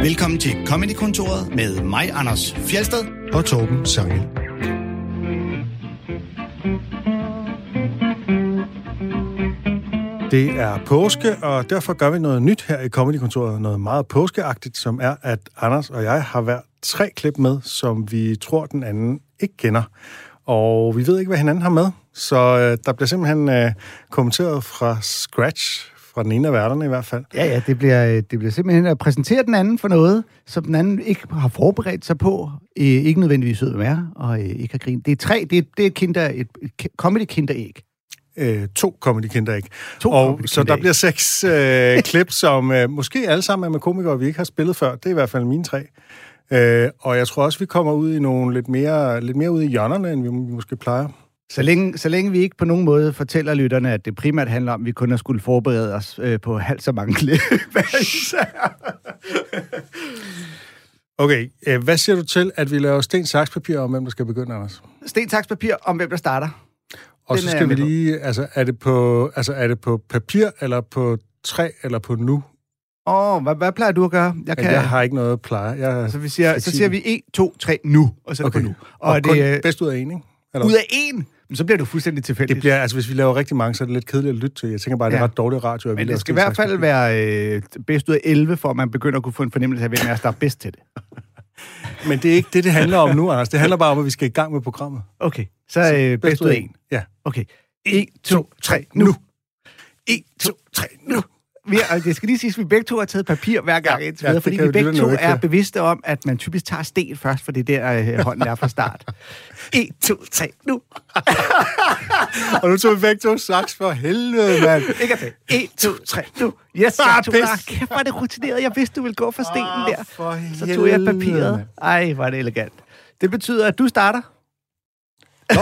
Velkommen til Comedy-kontoret med mig, Anders Fjeldsted og Torben Sangel. Det er påske, og derfor gør vi noget nyt her i Comedy-kontoret. Noget meget påskeagtigt, som er, at Anders og jeg har hver 3 klip med, som vi tror, den anden ikke kender. Og vi ved ikke, hvad hinanden har med. Så der bliver simpelthen kommenteret fra scratch, fra den ene af værterne i hvert fald. Ja, det bliver simpelthen at præsentere den anden for noget, som den anden ikke har forberedt sig på, ikke nødvendigvis ud med og ikke har grinet. Det er 3, det er et comedy-kinderæg. 2 comedy-kinderæg. Og så der bliver 6 klip, som måske alle sammen er med komikere, vi ikke har spillet før. Det er i hvert fald mine 3. Og jeg tror også, vi kommer ud i nogle lidt mere ud i hjørnerne, end vi måske plejer. Så længe vi ikke på nogen måde fortæller lytterne, at det primært handler om, at vi kun har skulle forberede os på halvt så mange klip. Okay, hvad siger du til, at vi laver sten, saks, papir om, hvem der skal begynde, Anders? Sten, saks, papir om, hvem der starter. Og så skal vi lige, er det på papir, eller på træ, eller på nu? Hvad plejer du at gøre? Jeg har ikke noget pleje. Så siger vi 1, 2, 3, nu, og så er det på nu. Og det er bedst ud af 1, ikke? Eller? Ud af 1? Men så bliver du fuldstændig tilfældigt. Det bliver, hvis vi laver rigtig mange, så er det lidt kedeligt at lytte til. Jeg tænker bare, det er ret dårlig radio. Men det skal i hvert fald være bedst ud af 11, for at man begynder at kunne få en fornemmelse af, hvem er der er bedst til det. Men det er ikke det handler om nu, Anders. Det handler bare om, at vi skal i gang med programmet. Okay, så bedst ud af 1. Ja. Okay. 1, 2, 3, nu. 1, 2, 3, nu. Det skal lige siges, at vi begge to har taget papir hver gang indtil videre, fordi vi begge to er bevidste om, at man typisk tager sten først, for det er der hånden er fra start. 1, 2, 3, nu. Og nu tog vi begge to saks for helvede, mand. Ikke at det. 1, 2, 3, nu. Yes, kæft, var det rutineret. Jeg vidste, du ville gå for stenen der. Så tog jeg papiret. Ej, var det elegant. Det betyder, at du starter. Nå,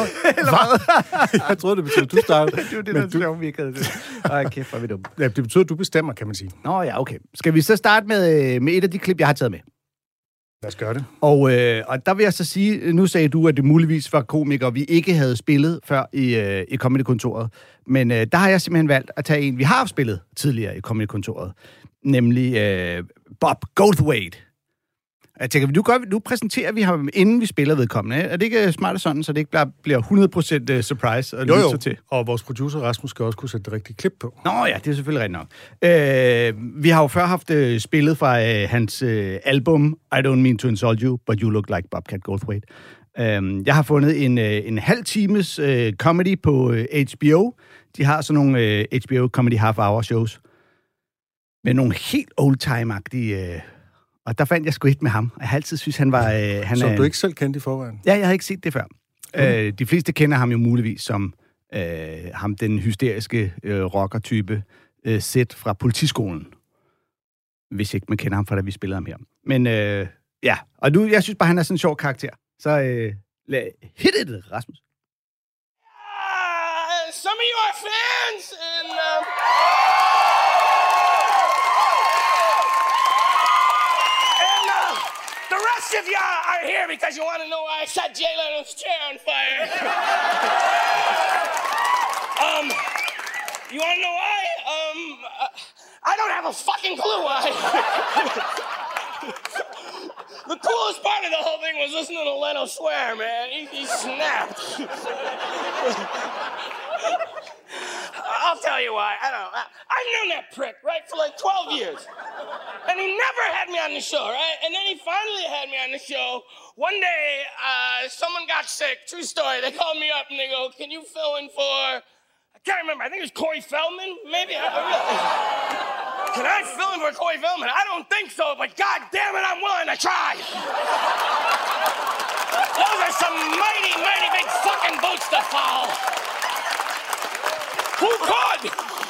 jeg troede, det betyder, at du starter. Det var det, der sjovt, vi ikke havde det. Ej, kæft, var vi dumme. Ja, det betyder, at du bestemmer, kan man sige. Nå ja, okay. Skal vi så starte med et af de klip, jeg har taget med? Lad os gøre det. Og der vil jeg så sige, nu sagde du, at det muligvis var komikere, vi ikke havde spillet før i Comedy-kontoret. Men der har jeg simpelthen valgt at tage en, vi har spillet tidligere i Comedy-kontoret. Nemlig Bob Goldthwait. Jeg tænker, nu præsenterer vi ham, inden vi spiller vedkommende. Er det ikke smart sådan, så det ikke bliver 100% surprise at lytte til? Og vores producer Rasmus skal også kunne sætte det rigtige klip på. Nå ja, det er selvfølgelig rigtigt nok. Vi har jo før haft spillet fra hans album I Don't Mean to Insult You, But You Look Like Bobcat Goldthwait. Jeg har fundet en halv times comedy på HBO. De har sådan nogle HBO Comedy Half-Hour shows med nogle helt old-time-agtige... Og der fandt jeg sgu et med ham. Jeg har altid synes, han var... Som du ikke selv kendte i forvejen? Ja, jeg havde ikke set det før. De fleste kender ham jo muligvis som ham, den hysteriske rocker-type Sid fra Politiskolen. Hvis ikke man kender ham fra, da vi spillede ham her. Men ja, og nu, jeg synes bare, han er sådan en sjov karakter. Så hit it, Rasmus. Some of you are fans, and... The rest of y'all are here because you want to know why I set Jay Leno's chair on fire. You want to know why? I don't have a fucking clue why. The coolest part of the whole thing was listening to Leno swear, man. He snapped. I'll tell you why. I don't know. I've known that prick, right, for like 12 years. And he never had me on the show, right? And then he finally had me on the show. One day, someone got sick. True story. They called me up and they go, can you fill in for... I can't remember. I think it was Corey Feldman, maybe? Can I fill in for Corey Feldman? I don't think so, but God damn it, I'm willing to try. Those are some mighty, mighty big fucking boots to follow. Who could?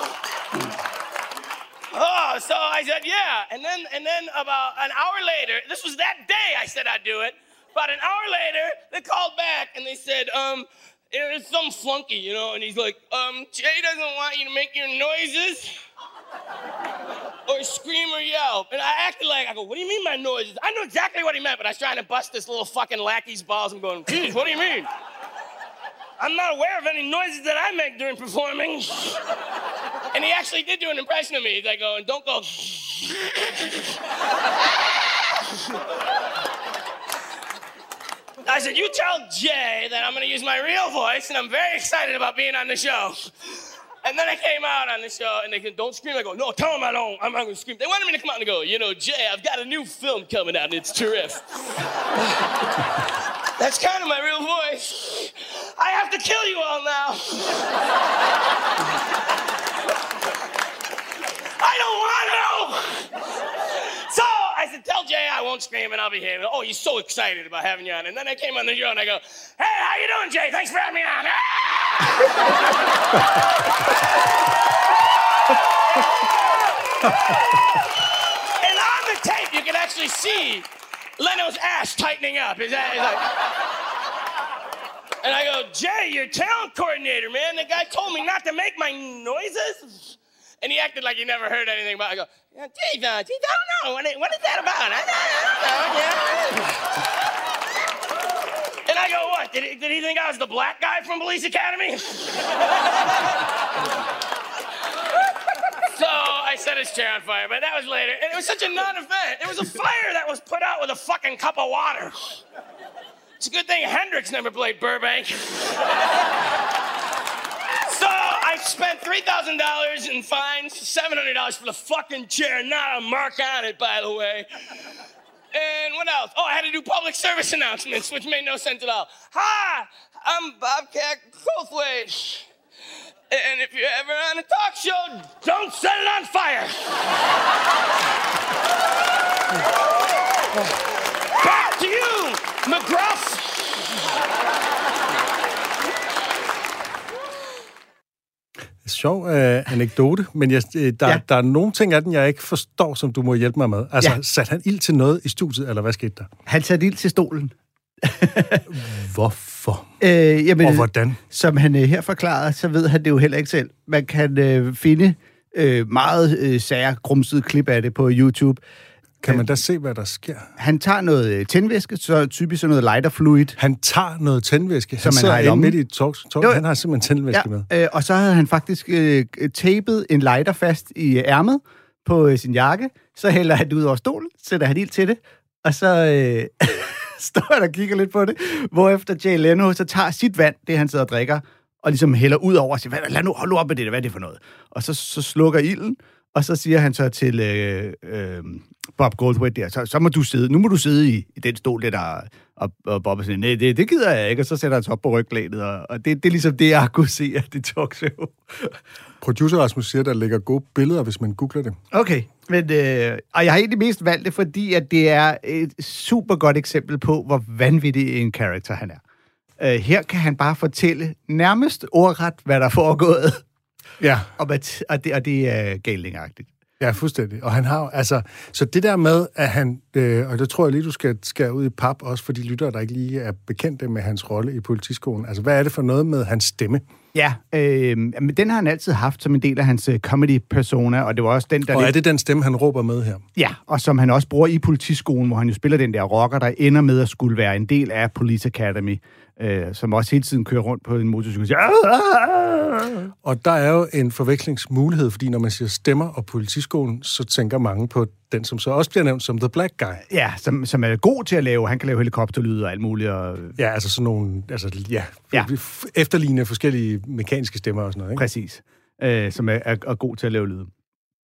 Oh, so I said, yeah. And then about an hour later, this was that day I said I'd do it. About an hour later, they called back and they said, it's some flunky, you know, and he's like, Jay doesn't want you to make your noises or scream or yell. And I acted like, I go, what do you mean my noises? I knew exactly what he meant, but I was trying to bust this little fucking lackey's balls. I'm going, geez, what do you mean? I'm not aware of any noises that I make during performing. And he actually did do an impression of me. He's like, don't go. I said, you tell Jay that I'm going to use my real voice, and I'm very excited about being on the show. And then I came out on the show, and they said, don't scream. I go, no, tell them I don't. I'm not going to scream. They wanted me to come out and go, you know, Jay, I've got a new film coming out, and it's terrific. That's kind of my real voice. I have to kill you all now. I don't want to. So I said, tell Jay I won't scream and I'll behave. Oh, he's so excited about having you on. And then I came on the show and I go, hey, how you doing, Jay? Thanks for having me on. And on the tape, you can actually see Leno's ass tightening up. Is that like... And I go, Jay, your talent coordinator, man. The guy told me not to make my noises. And he acted like he never heard anything about it. I go, yeah, Dave, I don't know. What is that about? I don't know. Yeah. And I go, what? Did he think I was the black guy from Police Academy? So I set his chair on fire, but that was later. And it was such a non-event. It was a fire that was put out with a fucking cup of water. It's a good thing Hendrix never played Burbank. So I spent $3,000 in fines, $700 for the fucking chair, not a mark on it, by the way. And what else? Oh, I had to do public service announcements, which made no sense at all. Hi, I'm Bobcat Goldthwait. And if you're ever on a talk show, don't set it on fire. Back to you, McGruff. Sjov anekdote, men der er nogle ting af den, jeg ikke forstår, som du må hjælpe mig med. Altså, satte han ild til noget i studiet, eller hvad skete der? Han satte ild til stolen. Hvorfor? Jamen, og hvordan? Som han her forklarede, så ved han det jo heller ikke selv. Man kan finde meget sære, grumsede klip af det på YouTube. Kan man da se, hvad der sker? Han tager noget tændvæske, så typisk noget lighter fluid. Han tager noget tændvæske? Som man har i lommen. Midt i et talk. Han har simpelthen tændvæske med. Og så havde han faktisk tapet en lighter fast i ærmet på sin jakke. Så hælder han det ud over stolen, sætter han ild til det, og så står han og kigger lidt på det. Hvorefter Jay Leno så tager sit vand, det han sidder og drikker, og ligesom hælder ud over og siger, lad nu, hold nu op med det, hvad er det for noget? Og så slukker ilden, og så siger han så til Bob Goldthwait der, så må du sidde, nu må du sidde i den stol, der og Bob er sådan, nej, det gider jeg ikke, og så sætter han sig op på ryglænet, og det er ligesom det, jeg kunne se af det talkshow. Producer Rasmus siger, der ligger gode billeder, hvis man googler det. Okay, men, og jeg har egentlig mest valgt det, fordi at det er et super godt eksempel på, hvor vanvittig en karakter han er. Her kan han bare fortælle nærmest ordret, hvad der er foregået. Ja. Og det er galingagtigt. Ja, fuldstændig. Og han har altså, så det der med, at han, og det tror jeg lige, du skal ud i pap, også for de lyttere, der ikke lige er bekendte med hans rolle i Politiskolen. Altså, hvad er det for noget med hans stemme? Ja, men den har han altid haft som en del af hans comedy-persona, og det var også den, der... Og er det den stemme, han råber med her? Ja, og som han også bruger i Politiskolen, hvor han jo spiller den der rocker, der ender med at skulle være en del af Police Academy, som også hele tiden kører rundt på en motorcykel. Og der er jo en forvekslingsmulighed, fordi når man siger stemmer og Politiskolen, så tænker mange på den, som så også bliver nævnt som The Black Guy. Ja, som er god til at lave. Han kan lave helikopterlyde og alt muligt. Og... Ja, altså sådan nogle... efterligne forskellige mekaniske stemmer og sådan noget, ikke? Præcis. Som er god til at lave lyde.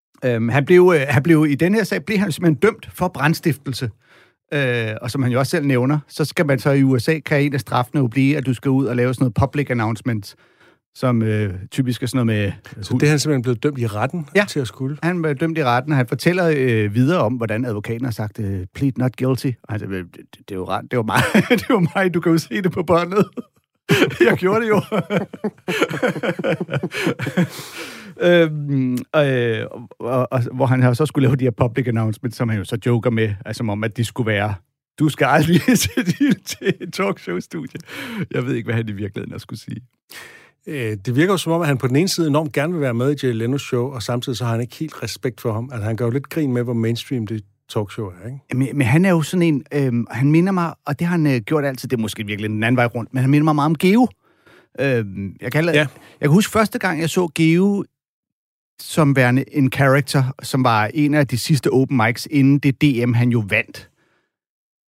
Han blev i den her sag blev han simpelthen dømt for brandstiftelse. Og som han jo også selv nævner, så skal man så i USA, kan en af straffene jo blive, at du skal ud og lave sådan noget public announcement, som typisk er sådan noget med... Så det er han simpelthen blevet dømt i retten til at skulle? Han blev dømt i retten, og han fortæller videre om, hvordan advokaten har sagt, plead not guilty. Og han siger, det er jo ret, det var mig, det var mig, du kan jo se det på båndet. Jeg gjorde det jo. Hvor han har så skulle lave de her public announcements, som han jo så joker med, altså om, at de skulle være, du skal aldrig sætte til et talkshow-studie. Jeg ved ikke, hvad han i virkeligheden har skulle sige. Det virker jo som om, at han på den ene side enormt gerne vil være med i Jay Leno's show, og samtidig så har han ikke helt respekt for ham. Altså, han gør jo lidt grin med, hvor mainstream det talkshow er, ikke? Men han er jo sådan en... han minder mig, og det har han gjort altid, det er måske virkelig den anden vej rundt, men han minder mig meget om Geo. Jeg kan huske første gang, jeg så Geo som værende en character, som var en af de sidste open mics, inden det DM, han jo vandt.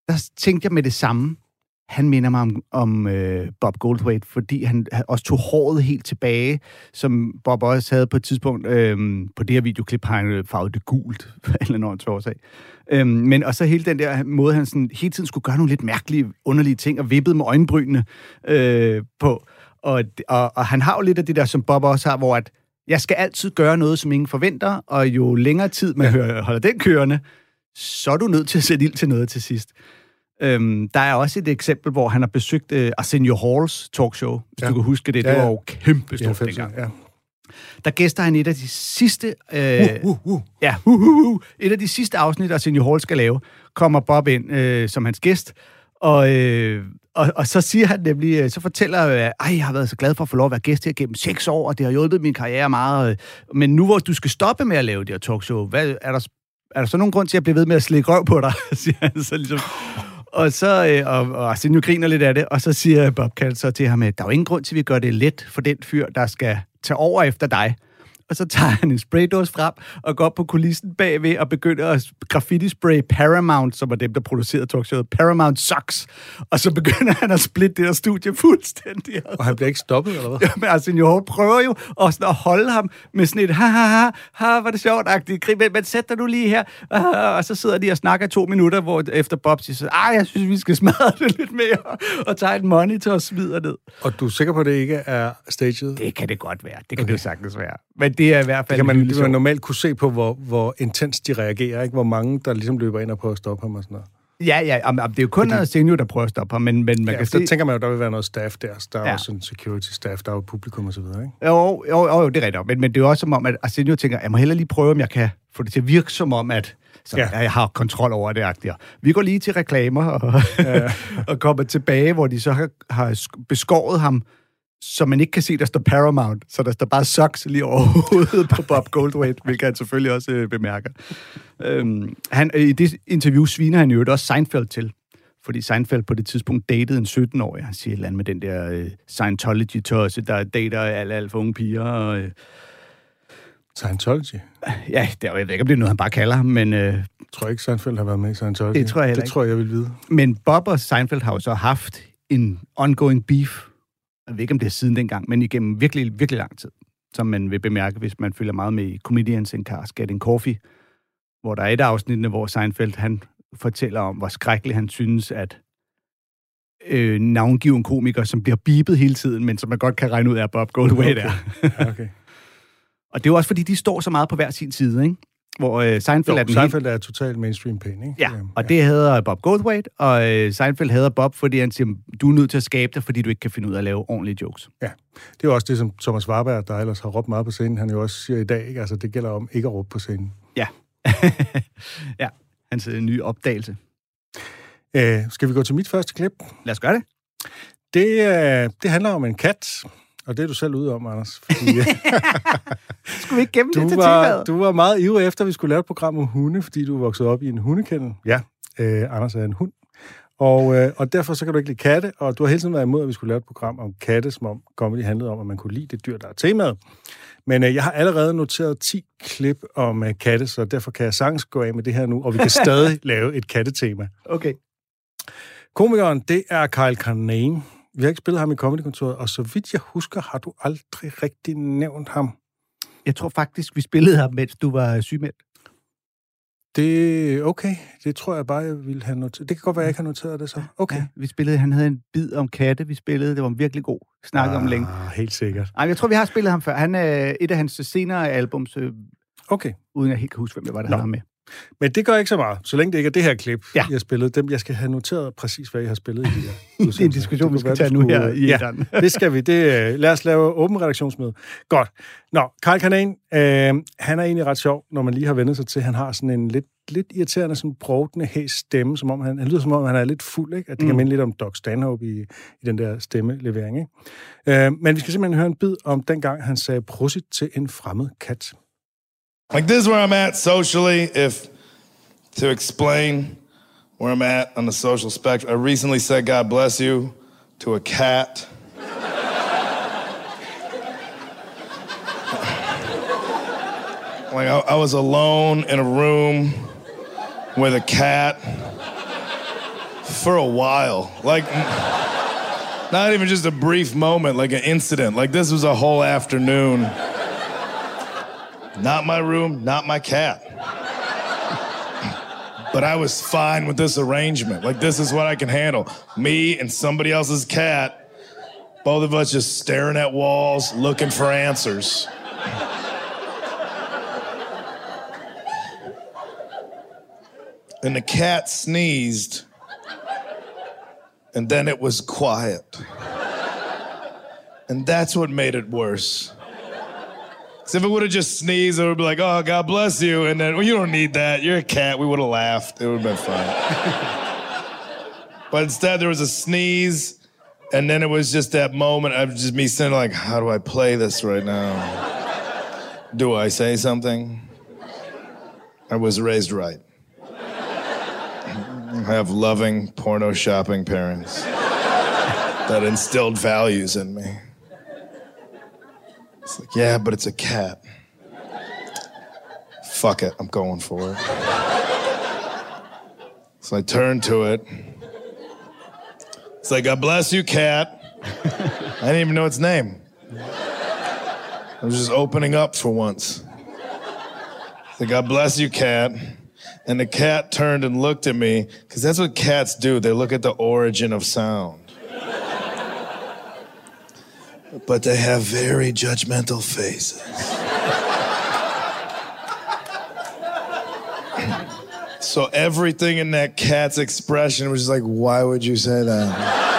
der tænkte jeg med det samme. Han minder mig om Bob Goldthwait, fordi han også tog håret helt tilbage, som Bob også havde på et tidspunkt. På det her videoklip har han farvet det gult, eller noget årsag. Men og så hele den der måde, han sådan, hele tiden skulle gøre nogle lidt mærkelige, underlige ting, og vippede med øjenbrynene på. Og han har jo lidt af det der, som Bob også har, hvor at jeg skal altid gøre noget, som ingen forventer, og jo længere tid man holder den kørende, så er du nødt til at sætte ild til noget til sidst. Der er også et eksempel, hvor han har besøgt Arsenio Halls talkshow, hvis du kan huske det. Det var jo kæmpe stort dengang. Ja. Der gæster han et af de sidste... et af de sidste afsnit, Arsenio Hall skal lave, kommer Bob ind som hans gæst, og så siger han nemlig, så fortæller jeg har været så glad for at få lov at være gæst her gennem 6 år, og det har hjulpet min karriere meget. Men nu hvor du skal stoppe med at lave det her talkshow, er der så nogen grund til at blive ved med at slikke røv på dig? Siger han så ligesom. Og så og Arsenio griner lidt af det, og så siger Bob Kaldt så til ham, at der er jo ingen grund til, at vi gør det let for den fyr, der skal tage over efter dig. Og så tager han en spraydåse frem og går op på kulissen bagved og begynder at graffiti-spray Paramount, som er dem, der producerede talkshowet, Paramount Sucks. Og så begynder han at splitte det her studie fuldstændig. Og han bliver ikke stoppet, eller hvad? Ja, men Arsenio Hall prøver jo også at holde ham med sådan et var det sjovt-agtigt grin, men sæt dig nu lige her. Og så sidder de og snakker 2 minutter, hvor efter Bob siger, jeg synes, vi skal smadre det lidt mere, og tage et monitor og smider ned. Og du er sikker på, at det ikke er staged? Det kan det godt være. Det kan det jo sagtens være. Men det er i hvert fald... Det kan man normalt kunne se på, hvor intens de reagerer, ikke? Hvor mange, der ligesom løber ind og prøver at stoppe ham og sådan noget. Ja, det er jo kun Arsenio, der prøver at stoppe ham, men man kan se... Så tænker man jo, der vil være noget staff der. Der er også en security staff, der er jo publikum og så videre, ikke? Jo, det er rigtigt. Men det er jo også som om, at Arsenio tænker, jeg må hellere lige prøve, om jeg kan få det til at virke som om, at jeg har kontrol over det. Agtigt. Vi går lige til reklamer og kommer tilbage, hvor de så har beskåret ham, så man ikke kan se, der står Paramount, så der står bare Sucks lige over hovedet på Bob Goldthwait, hvilket han selvfølgelig også bemærker. I det interview sviner han jo også Seinfeld til, fordi Seinfeld på det tidspunkt datede en 17-årig. Han siger et eller andet med den der Scientology-tosse, der dater alt for unge piger. Og, Scientology? Ja, jeg ved ikke, om det er noget, han bare kalder ham, men... Jeg tror ikke, Seinfeld har været med i Scientology. Det tror jeg heller ikke. Det tror jeg vil vide. Men Bob og Seinfeld har jo så haft en ongoing beef. Jeg ved ikke, om det er siden dengang, men igennem virkelig, virkelig lang tid, som man vil bemærke, hvis man følger meget med i Comedians in Cars Getting Coffee, hvor der er et afsnit, hvor Seinfeld, han fortæller om, hvor skrækkeligt han synes, at navngiven komiker, som bliver beepet hele tiden, men som man godt kan regne ud af, Bob Goldthwait er. Okay. Og det er jo også, fordi de står så meget på hver sin side, ikke? Hvor Seinfeld er totalt mainstream pæn, ikke? Ja, og det hedder Bob Goldthwait, og Seinfeld hedder Bob, fordi han siger, du er nødt til at skabe det, fordi du ikke kan finde ud af at lave ordentlige jokes. Ja, det er jo også det, som Thomas Warberg, der ellers har råbt meget på scenen, han jo også siger i dag, ikke? Altså, det gælder om ikke at råbe på scenen. Ja. Ja, hans nye opdagelse. Skal vi gå til mit første klip? Lad os gøre det. Det handler om en kat, og det er du selv ude om, Anders. Fordi, skulle vi ikke gemme det til temaet? Du var meget ivrig efter, at vi skulle lave et program om hunde, fordi du voksede op i en hundekendel. Ja, Anders er en hund. Og derfor så kan du ikke lide katte, og du har hele tiden været imod, at vi skulle lave et program om katte, som om comedy handlede om, at man kunne lide det dyr, der er temaet. Men jeg har allerede noteret 10 klip om katte, så derfor kan jeg sagtens gå af med det her nu, og vi kan stadig lave et kattetema. Okay. Komikeren, det er Kyle Kinane. Vi har ikke spillet ham i Comedykontoret, og så vidt jeg husker, har du aldrig rigtig nævnt ham. Jeg tror faktisk, vi spillede ham, mens du var sygemeldt. Det okay. Det tror jeg bare, jeg ville have noteret. Det kan godt være, jeg ikke har noteret det så. Okay. Ja, vi spillede, han havde en bid om katte, vi spillede. Det var virkelig god. Snakke om længe. Helt sikkert. Ej, jeg tror, vi har spillet ham før. Han er et af hans senere albums. Okay. Uden jeg helt kan huske, hvem det var, der havde ham med. Men det gør ikke så meget, så længe det ikke er det her klip, jeg har spillet. Dem, jeg skal have noteret præcis, hvad jeg har spillet i de her. Det er en diskussion, vi skal tage nu her i Eden. Ja, det skal vi. Lad os lave åben redaktionsmøde. Godt. Nå, Kyle Kinane, han er egentlig ret sjov, når man lige har vendt sig til. Han har sådan en lidt irriterende, sådan brovtende, hæs stemme, som om han lyder som om, han er lidt fuld, ikke? At det kan minde lidt om Doc Stanhope i den der stemmelevering, ikke? Men vi skal simpelthen høre en bid om dengang, han sagde prosit til en fremmed kat. Like, this is where I'm at socially, to explain where I'm at on the social spectrum. I recently said God bless you to a cat. Like, I was alone in a room with a cat For a while. Like, not even just a brief moment, like an incident. Like, this was a whole afternoon. Not my room, not my cat. But I was fine with this arrangement. Like, this is what I can handle. Me and somebody else's cat, both of us just staring at walls, looking for answers. And the cat sneezed, and then it was quiet. And that's what made it worse. Because if it would have just sneezed, it would be like, oh, God bless you. And then, well, you don't need that. You're a cat. We would have laughed. It would have been fine. But instead, there was a sneeze, and then it was just that moment of just me saying, like, how do I play this right now? Do I say something? I was raised right. I have loving, porno shopping parents that instilled values in me. It's like, yeah, but it's a cat. Fuck it, I'm going for it. So I turned to it. It's like, God bless you, cat. I didn't even know its name. I was just opening up for once. It's like, God bless you, cat. And the cat turned and looked at me, because that's what cats do. They look at the origin of sound. But they have very judgmental faces. So everything in that cat's expression was just like, why would you say that?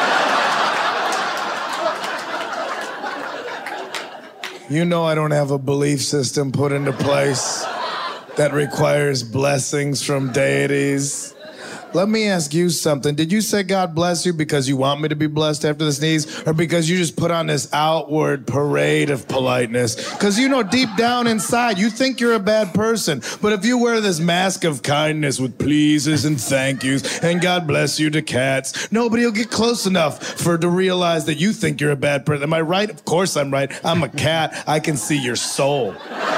You know I don't have a belief system put into place that requires blessings from deities. Let me ask you something. Did you say God bless you because you want me to be blessed after the sneeze, or because you just put on this outward parade of politeness? Because you know deep down inside, you think you're a bad person. But if you wear this mask of kindness with pleases and thank yous and God bless you to cats, nobody will get close enough to realize that you think you're a bad person. Am I right? Of course I'm right. I'm a cat. I can see your soul.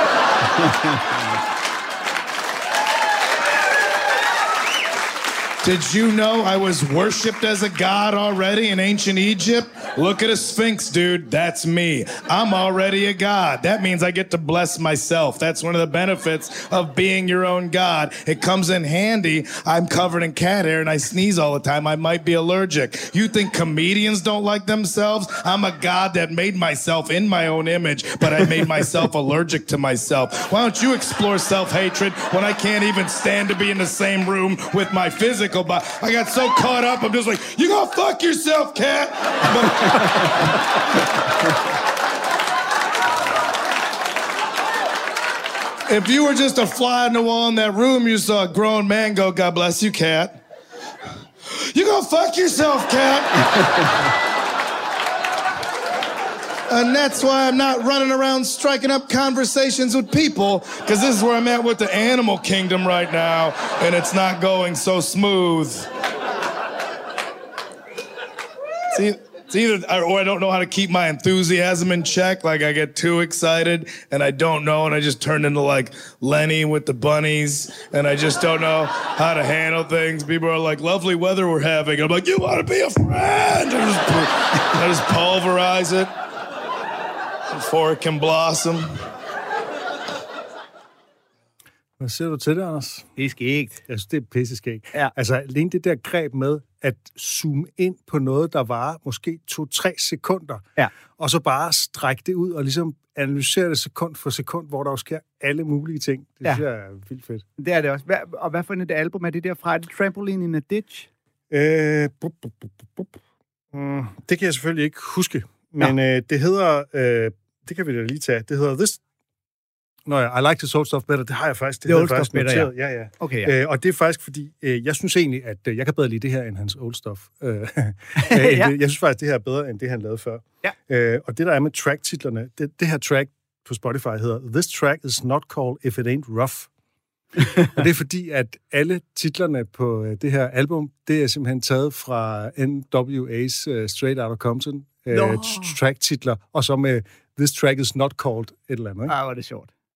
Did you know I was worshipped as a god already in ancient Egypt? Look at a sphinx, dude. That's me. I'm already a god. That means I get to bless myself. That's one of the benefits of being your own god. It comes in handy. I'm covered in cat hair and I sneeze all the time. I might be allergic. You think comedians don't like themselves? I'm a god that made myself in my own image, but I made myself allergic to myself. Why don't you explore self-hatred when I can't even stand to be in the same room with my physical body? I got so caught up, I'm just like, you gonna fuck yourself, cat? If you were just a fly on the wall in that room, you saw a grown man go, God bless you, cat. You gonna fuck yourself, cat? And that's why I'm not running around striking up conversations with people, because this is where I'm at with the animal kingdom right now, and it's not going so smooth. See, it's either, or I don't know how to keep my enthusiasm in check. Like, I get too excited, and I don't know, and I just turn into, like, Lenny with the bunnies, and I just don't know how to handle things. People are like, lovely weather we're having. I'm like, you want to be a friend? I just pulverize it before it can blossom. Hvad siger du til det, Anders? Det er skægt. Jeg synes, det er pisseskægt. Ja. Altså, alene det der greb med at zoome ind på noget, der varer måske 2-3 sekunder, Ja. og så bare strække det ud og ligesom analysere det sekund for sekund, hvor der jo sker alle mulige ting. Det synes jeg er vildt fedt. Det er det også. Og hvad for et album er det derfra? Er det Trampoline in a Ditch? Det kan jeg selvfølgelig ikke huske, men det hedder... det kan vi da lige tage. Det hedder This... Nå ja, I like the old stuff better. Det har jeg faktisk. Det old stuff better, noteret. Ja. Okay, ja. Og det er faktisk, fordi jeg synes egentlig, at jeg kan bedre lide det her, end hans old stuff. Jeg synes faktisk, det her er bedre, end det, han lavede før. Ja. Og det, der er med track-titlerne, det her track på Spotify hedder This track is not called If It Ain't Rough. Og det er fordi, at alle titlerne på det her album, det er simpelthen taget fra NWA's Straight Outta Compton track-titler, og så med This track is not called et eller andet. Ikke? Var det sjovt.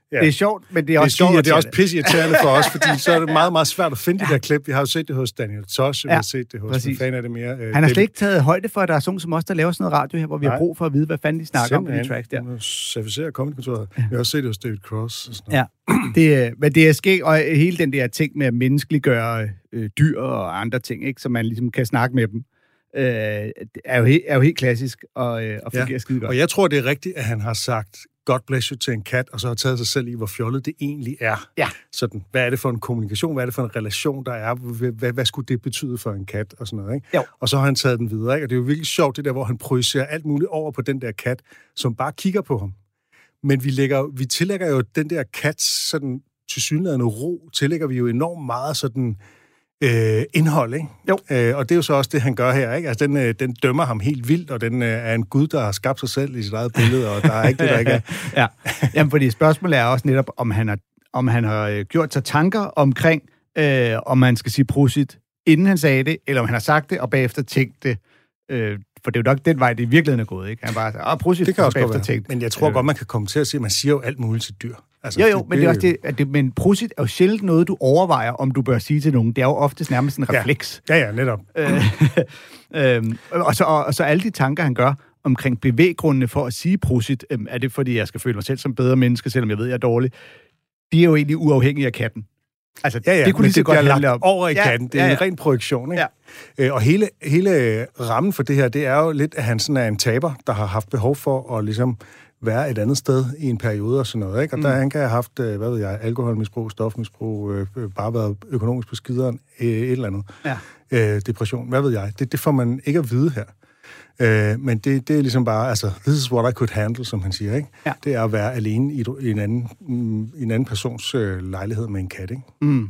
Ja. Det er sjovt, men det er også sjovt, og det er også pisseirriterende for os, fordi så er det meget, meget svært at finde de der klip. Vi har jo set det hos Daniel Tosh, vi har set det hos fan af det mere. Han har slet ikke taget højde for, at der er sådan som os, der laver sådan noget radio her, hvor vi har brug for at vide, hvad fanden de snakker om i de tracks der. Servicere Comedy-kontoret. Vi har også set det hos David Cross. Og sådan noget. Men det er skægt, og hele den der ting med at menneskeliggøre dyr og andre ting, ikke, så man ligesom kan snakke med dem, er jo helt klassisk og fungerer skide godt. Og jeg tror, det er rigtigt, at han har sagt God bless you til en kat, og så har taget sig selv i, hvor fjollet det egentlig er. Ja. Sådan, hvad er det for en kommunikation? Hvad er det for en relation, der er? Hvad skulle det betyde for en kat? Og sådan noget, ikke? Jo. Og så har han taget den videre, ikke? Og det er jo virkelig sjovt, det der, hvor han projicerer alt muligt over på den der kat, som bare kigger på ham. Men vi tillægger jo den der kat sådan tilsyneladende ro, tillægger vi jo enormt meget sådan indhold, ikke? Jo. Og det er jo så også det, han gør her, ikke? Altså, den dømmer ham helt vildt, og den er en gud, der har skabt sig selv i sit eget billede, og der er ikke det, der ikke er. Ja. Jamen, fordi spørgsmålet er også netop, om han har gjort sig tanker omkring, om man skal sige prosit, inden han sagde det, eller om han har sagt det, og bagefter tænkt det. For det er jo nok den vej, det i virkeligheden er gået, ikke? Han bare sagde, prosit, det kan også bagefter tænkt. Men jeg tror godt, man kan komme til at sige, at man siger jo alt muligt til dyr. Altså, jo, men det er også det, men prosit er jo sjældent noget, du overvejer, om du bør sige til nogen. Det er jo oftest nærmest en refleks. Ja, netop. Og så alle de tanker, han gør omkring bevæggrundene for at sige prosit, er det, fordi jeg skal føle mig selv som bedre menneske, selvom jeg ved, jeg er dårlig, de er jo egentlig uafhængige af katten. Altså, det kunne lige så godt handle om. Over i katten. Det er en ren projektion, ikke? Ja. Og hele rammen for det her, det er jo lidt, at han sådan er en taber, der har haft behov for at ligesom være et andet sted i en periode og sådan noget, ikke? Og der han kan have haft, alkoholmisbrug, stofmisbrug, bare været økonomisk på skideren, et eller andet. Ja. Depression, hvad ved jeg. Det får man ikke at vide her. Men det er ligesom bare, altså, this is what I could handle, som han siger, ikke? Ja. Det er at være alene i en anden persons lejlighed med en kat, ikke?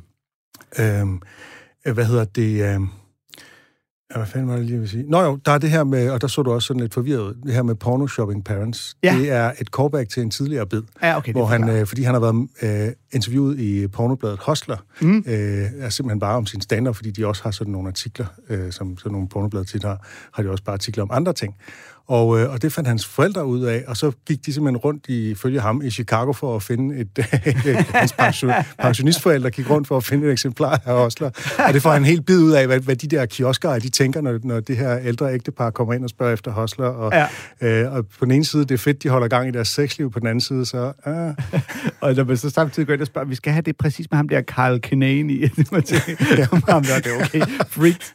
Hvad fanden var det lige, jeg vil sige? Nå jo, der er det her med, og der så du også sådan lidt forvirret ud, det her med porno-shopping parents. Ja. Det er et callback til en tidligere bid, hvor han, fordi han har været interviewet i pornobladet Hustler, er simpelthen bare om sin stand-up, fordi de også har sådan nogle artikler, som sådan nogle pornoblade tit har de også bare artikler om andre ting. Og det fandt hans forældre ud af, og så gik de simpelthen rundt ifølge ham i Chicago for at finde hans pensionistforældre gik rundt for at finde et eksemplar af Hustler. Og det får han helt bid ud af, hvad de der kiosker de tænker, når det her ældre ægtepar kommer ind og spørger efter Hustler. Og på den ene side, det er fedt, de holder gang i deres sexliv, på den anden side, så... Og når man så samtidig går ind og spørger, vi skal have det præcis med ham der Carl Kinane i. Ham der, det er okay. Freaked.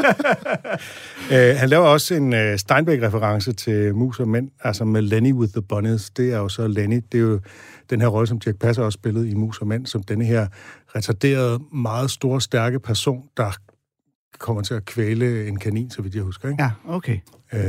Han laver også en Steinbeck-reference til Mus og Mænd, altså med Lenny with the Bunnies. Det er jo så Lenny. Det er jo den her rolle, som Dirch Passer også spillede i Mus og Mænd, som denne her retarderede, meget store, stærke person, der kommer til at kvæle en kanin, så vidt jeg husker, ikke? Ja, okay.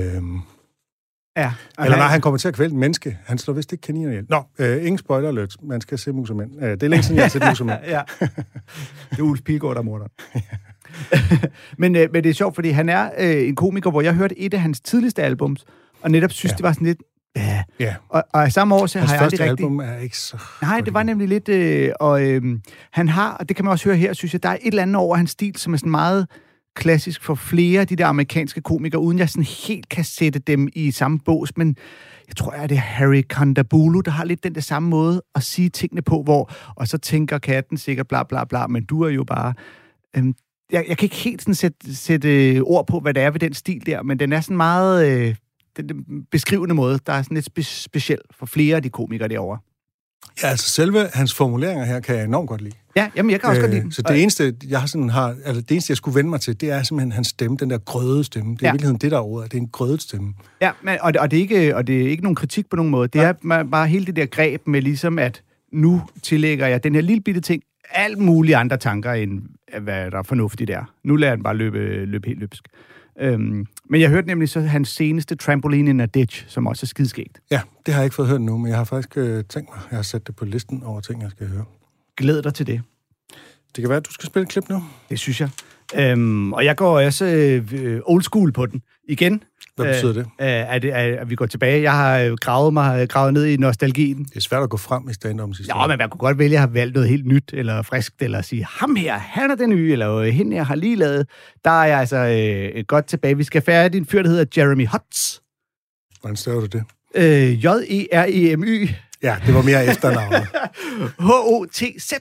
Eller nej, han kommer til at kvæle en menneske. Han slår vist ikke kaniner ihjel. Ingen spoiler alert. Man skal se Mus og Mænd. Det er længe siden, jeg har set Mus og Mænd. Ja. Det er Ulf Pilgaard, der morder. men det er sjovt, fordi han er en komiker, hvor jeg hørte et af hans tidligste albums, og netop synes, det var sådan lidt... Ja. Og samme år, så har jeg aldrig rigtig... Hans første album er ikke så... Nej, det var nemlig lidt... han har, og det kan man også høre her, synes jeg, der er et eller andet over hans stil, som er sådan meget klassisk for flere af de der amerikanske komikere, uden jeg sådan helt kan sætte dem i samme bås, men jeg tror, det er Harry Kondabolu, der har lidt den der samme måde at sige tingene på, hvor... Og så tænker katten sikkert bla bla bla, men du er jo bare... Jeg kan ikke helt sådan sætte ord på, hvad det er ved den stil der, men den er sådan meget den beskrivende måde, der er sådan lidt speciel for flere af de komikere derovre. Ja, altså selve hans formuleringer her kan jeg enormt godt lide. Ja, jamen jeg kan også godt lide dem. Så det eneste, det eneste, jeg skulle vende mig til, det er simpelthen hans stemme, den der grøde stemme. Det er i virkeligheden det, der er ordet. Det er en grødet stemme. Ja, men, og det er ikke nogen kritik på nogen måde. Det er bare hele det der greb med ligesom, at nu tillægger jeg den her lille bitte ting alt mulige andre tanker, end hvad der er fornuftigt der. Nu lader han bare løbe helt løbsk. Men jeg hørte nemlig så hans seneste Trampoline in a Ditch, som også er skidskægt. Ja, det har jeg ikke fået hørt nu, men jeg har faktisk tænkt mig, jeg har sat det på listen over ting, jeg skal høre. Glæd dig til det. Det kan være, at du skal spille et klip nu. Det synes jeg. Og jeg går også old school på den igen. Hvad betyder det? At vi går tilbage. Jeg har gravet ned i nostalgien. Det er svært at gå frem i stand-up's historie. Ja, men man kunne godt vælge at have valgt noget helt nyt, eller friskt, eller sige, ham her, han er den nye, eller hende jeg har lige lavet. Der er jeg altså godt tilbage. Vi skal færdig en fyr, der hedder Jeremy Hotz. Hvordan staver du det? Jeremy. Ja, det var mere efternavnet. H-O-T-Z.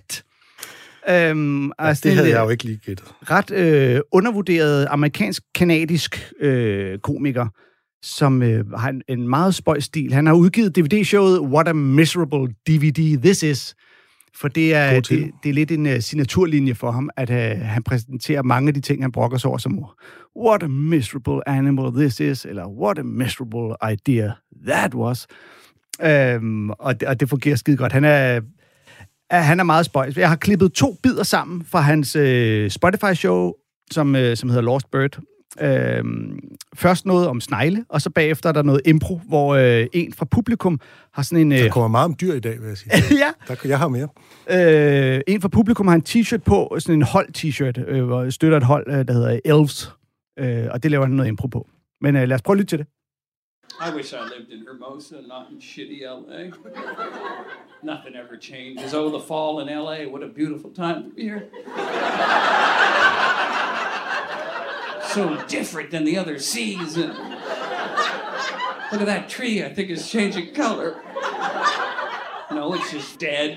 Det havde jeg jo ikke lige gættet. Ret undervurderet amerikansk-kanadisk komiker, som har en meget spøjs stil. Han har udgivet DVD-showet What a Miserable DVD This Is. For det er lidt en signaturlinje for ham, at han præsenterer mange af de ting, han brokker sig over, som What a miserable animal this is, eller What a miserable idea that was. Og det fungerer skide godt. Han er meget spøjs. Jeg har klippet 2 bidder sammen fra hans Spotify-show, som hedder Lost Bird. Først noget om snegle, og så bagefter er der noget impro, hvor en fra publikum har sådan en... Der kommer meget om dyr i dag, vil jeg sige. Ja. Jeg har mere. En fra publikum har en t-shirt på, sådan en hold-t-shirt, hvor støtter et hold, der hedder Elves, og det laver han noget impro på. Men lad os prøve at lytte til det. I wish I lived in Hermosa, not in shitty LA. Nothing ever changes. Oh, the fall in LA, what a beautiful time to be here. So different than the other season. Look at that tree, I think it's changing color. No, it's just dead.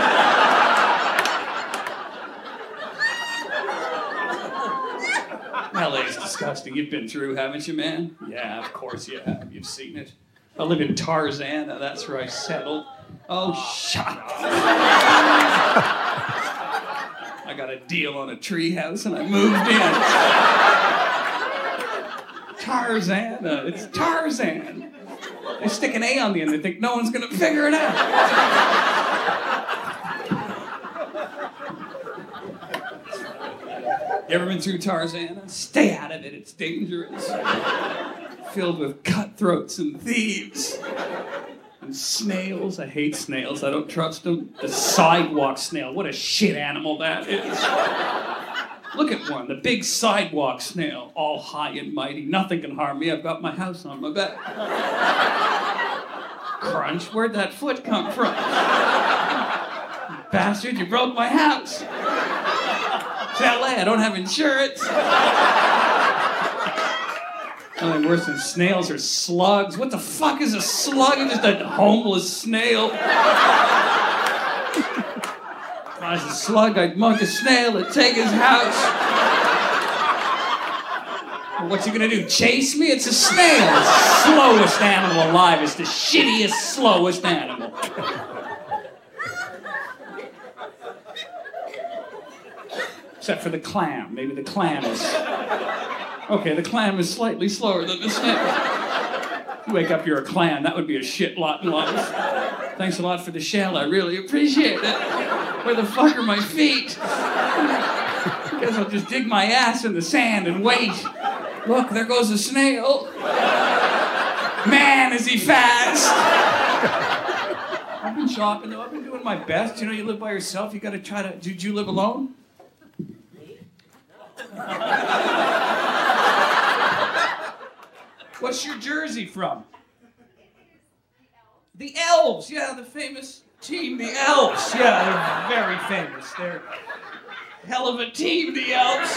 LA's disgusting. You've been through, haven't you, man? Yeah, of course you have. You've seen it. I live in Tarzana. That's where I settled. Oh, shut up. I got a deal on a treehouse and I moved in. Tarzana. It's Tarzan. They stick an A on the end. They think no one's going to figure it out. You ever been through Tarzana? Stay out of it, it's dangerous. Filled with cutthroats and thieves. And snails, I hate snails, I don't trust them. The sidewalk snail, what a shit animal that is. Look at one, the big sidewalk snail, all high and mighty. Nothing can harm me, I've got my house on my back. Crunch, where'd that foot come from? Bastard, you broke my house. It's LA, I don't have insurance. Nothing worse than snails or slugs. What the fuck is a slug? It's just a homeless snail. If I was a slug, I'd mug a snail and take his house. Well, what's he gonna do, chase me? It's a snail. It's the slowest animal alive. It's the shittiest, slowest animal. Except for the clam. Maybe the clam is... Okay, the clam is slightly slower than the snail. You wake up, you're a clam. That would be a shit lot in life. Thanks a lot for the shell. I really appreciate it. Where the fuck are my feet? Guess I'll just dig my ass in the sand and wait. Look, there goes a snail. Man, is he fast. I've been shopping, though. I've been doing my best. You know, you live by yourself. You gotta try to... Did you live alone? What's your jersey from? The Elves, yeah, the famous team, the Elves. Yeah, they're very famous. They're a hell of a team, the Elves.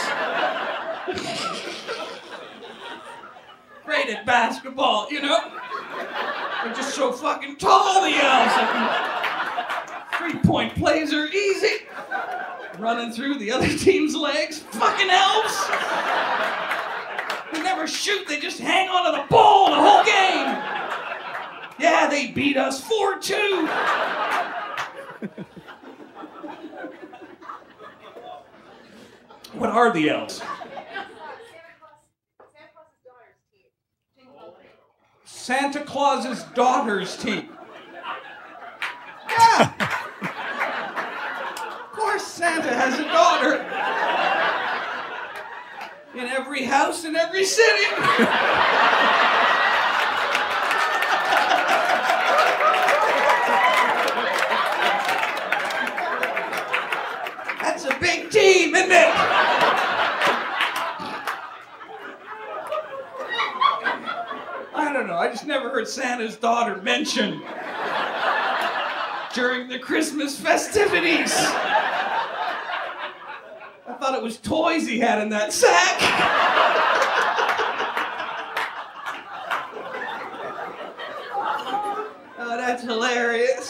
Great at basketball, you know? They're just so fucking tall, the Elves. Three-point plays are easy. Running through the other team's legs. Fucking Elves! They never shoot, they just hang onto the ball the whole game! Yeah, they beat us 4-2! What are the Elves? Santa Claus's daughter's team. Yeah! Of course Santa has a daughter. In every house in every city. That's a big team, isn't it? I don't know, I just never heard Santa's daughter mentioned during the Christmas festivities. I thought it was toys he had in that sack. I'd That's hilarious.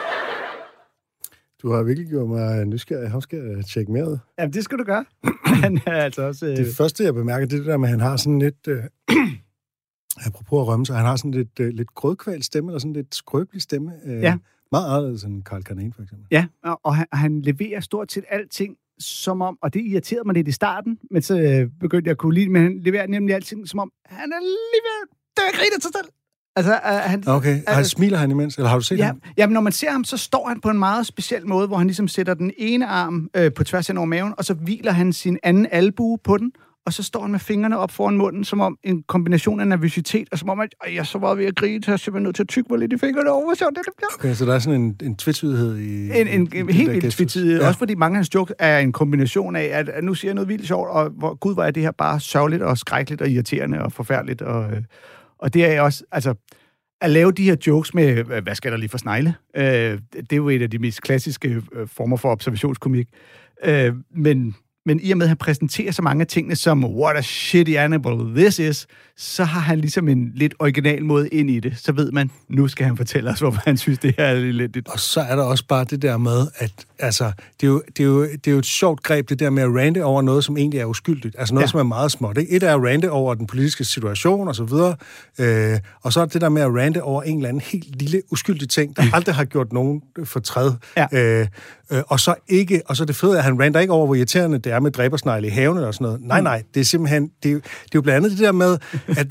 Du har virkelig gjort mig nysgerrig. Ham skal jeg tjekke mere ud. Ja, det skal du gøre. Han er altså også... Det første, jeg bemærker, det er det der med, at han har sådan lidt... apropos at rømme sig, han har sådan lidt grødkvalt stemme, eller sådan lidt skrøbelig stemme. Ja. Meget anderledes end Carl Carnane, for eksempel. Ja, og han leverer stort set alting, som om... Og det irriterede mig lidt i starten, men så begyndte jeg at kunne lide, men han leverer nemlig alting, som om han er lige ved... Det er griner sig selv. Altså, Okay, smiler han imens, eller har du set ham? Ja, men når man ser ham, så står han på en meget speciel måde, hvor han ligesom sætter den ene arm på tværs hen over maven, og så hviler han sin anden albue på den, og så står han med fingrene op foran munden, som om en kombination af nervøsitet, og som om, at jeg er så meget ved at grine, så jeg er simpelthen nødt til at tygge mig lidt i fingrene over, så det bliver. Okay, så der er sådan en tvetydighed i... En helt vildt tvetydighed. Ja. Også fordi mange af hans jokes er en kombination af, at nu siger jeg noget vildt sjovt, og hvor er det her bare sørgeligt og skrækkeligt og irriterende og forfærdeligt, og det er også, altså... At lave de her jokes med, hvad skal der lige for snegle? Det er jo et af de mest klassiske former for observationskomik. Men i og med, at han præsenterer så mange af tingene som, what a shitty animal this is, så har han ligesom en lidt original måde ind i det. Så ved man, nu skal han fortælle os, hvorfor han synes, det her er lidt... Og så er der også bare det der med, at altså, det er jo et sjovt greb, det der med at rante over noget, som egentlig er uskyldigt. Altså noget, som er meget småt. Ikke? Et er at rante over den politiske situation, og så videre. Og så er det der med at rante over en eller anden helt lille uskyldig ting, der aldrig har gjort nogen fortræd. Ja. Og så er det fede, at han ranter ikke over, hvor irriterende det er med dræbersnegle i haven og sådan noget. Nej, det er simpelthen... Det er jo blandt andet det der med,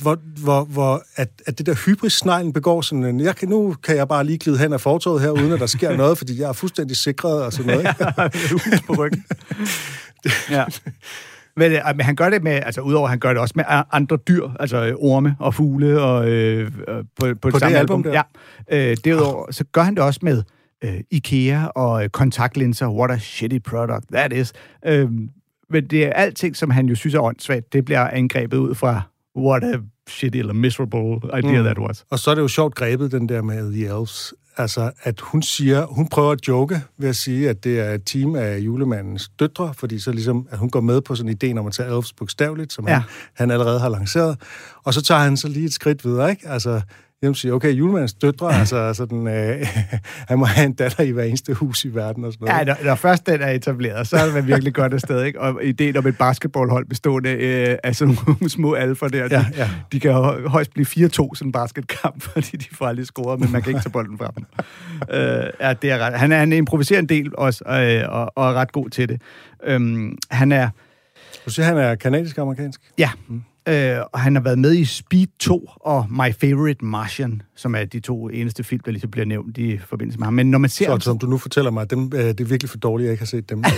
at det der hybris-sneglen begår sådan en... Nu kan jeg bare lige glide hen af fortovet her, uden at der sker noget, fordi jeg er fuldstændig sikret og sådan noget. Hus på ryggen. Ja. Men han gør det med, altså udover han gør det også med andre dyr, altså orme og fugle og på det samme album. Der. Ja. Derudover så gør han det også med IKEA og kontaktlinser. What a shitty product that is. Men det er alting, som han jo synes er åndssvagt, det bliver angrebet ud fra what a shitty eller miserable idea that was. Og så er det jo sjovt grebet, den der med The Elves. Altså, at hun prøver at joke ved at sige, at det er et team af julemandens døtre, fordi så ligesom, at hun går med på sådan en idé om at tage Elves bogstaveligt, som han allerede har lanceret. Og så tager han så lige et skridt videre, ikke? Altså, jeg siger, okay, julemandens døtre, altså sådan, han må have en datter i hver eneste hus i verden og sådan noget. Ja, når først den er etableret, så er det virkelig godt afsted, ikke? Og ideen om et basketballhold bestående af sådan nogle små alfer der, de kan højst blive 4-2 sådan en basketkamp, fordi de får aldrig scoret, men man kan ikke tage bolden fra dem. Det er ret. Han improviserer en del også, og er ret god til det. Han er... Du siger, han er kanadisk-amerikansk? Ja. Og han har været med i Speed 2 og My Favorite Martian, som er de to eneste film, der ligesom bliver nævnt i forbindelse med ham. Men når man ser... Så som du nu fortæller mig, det er virkelig for dårligt, jeg ikke har set dem.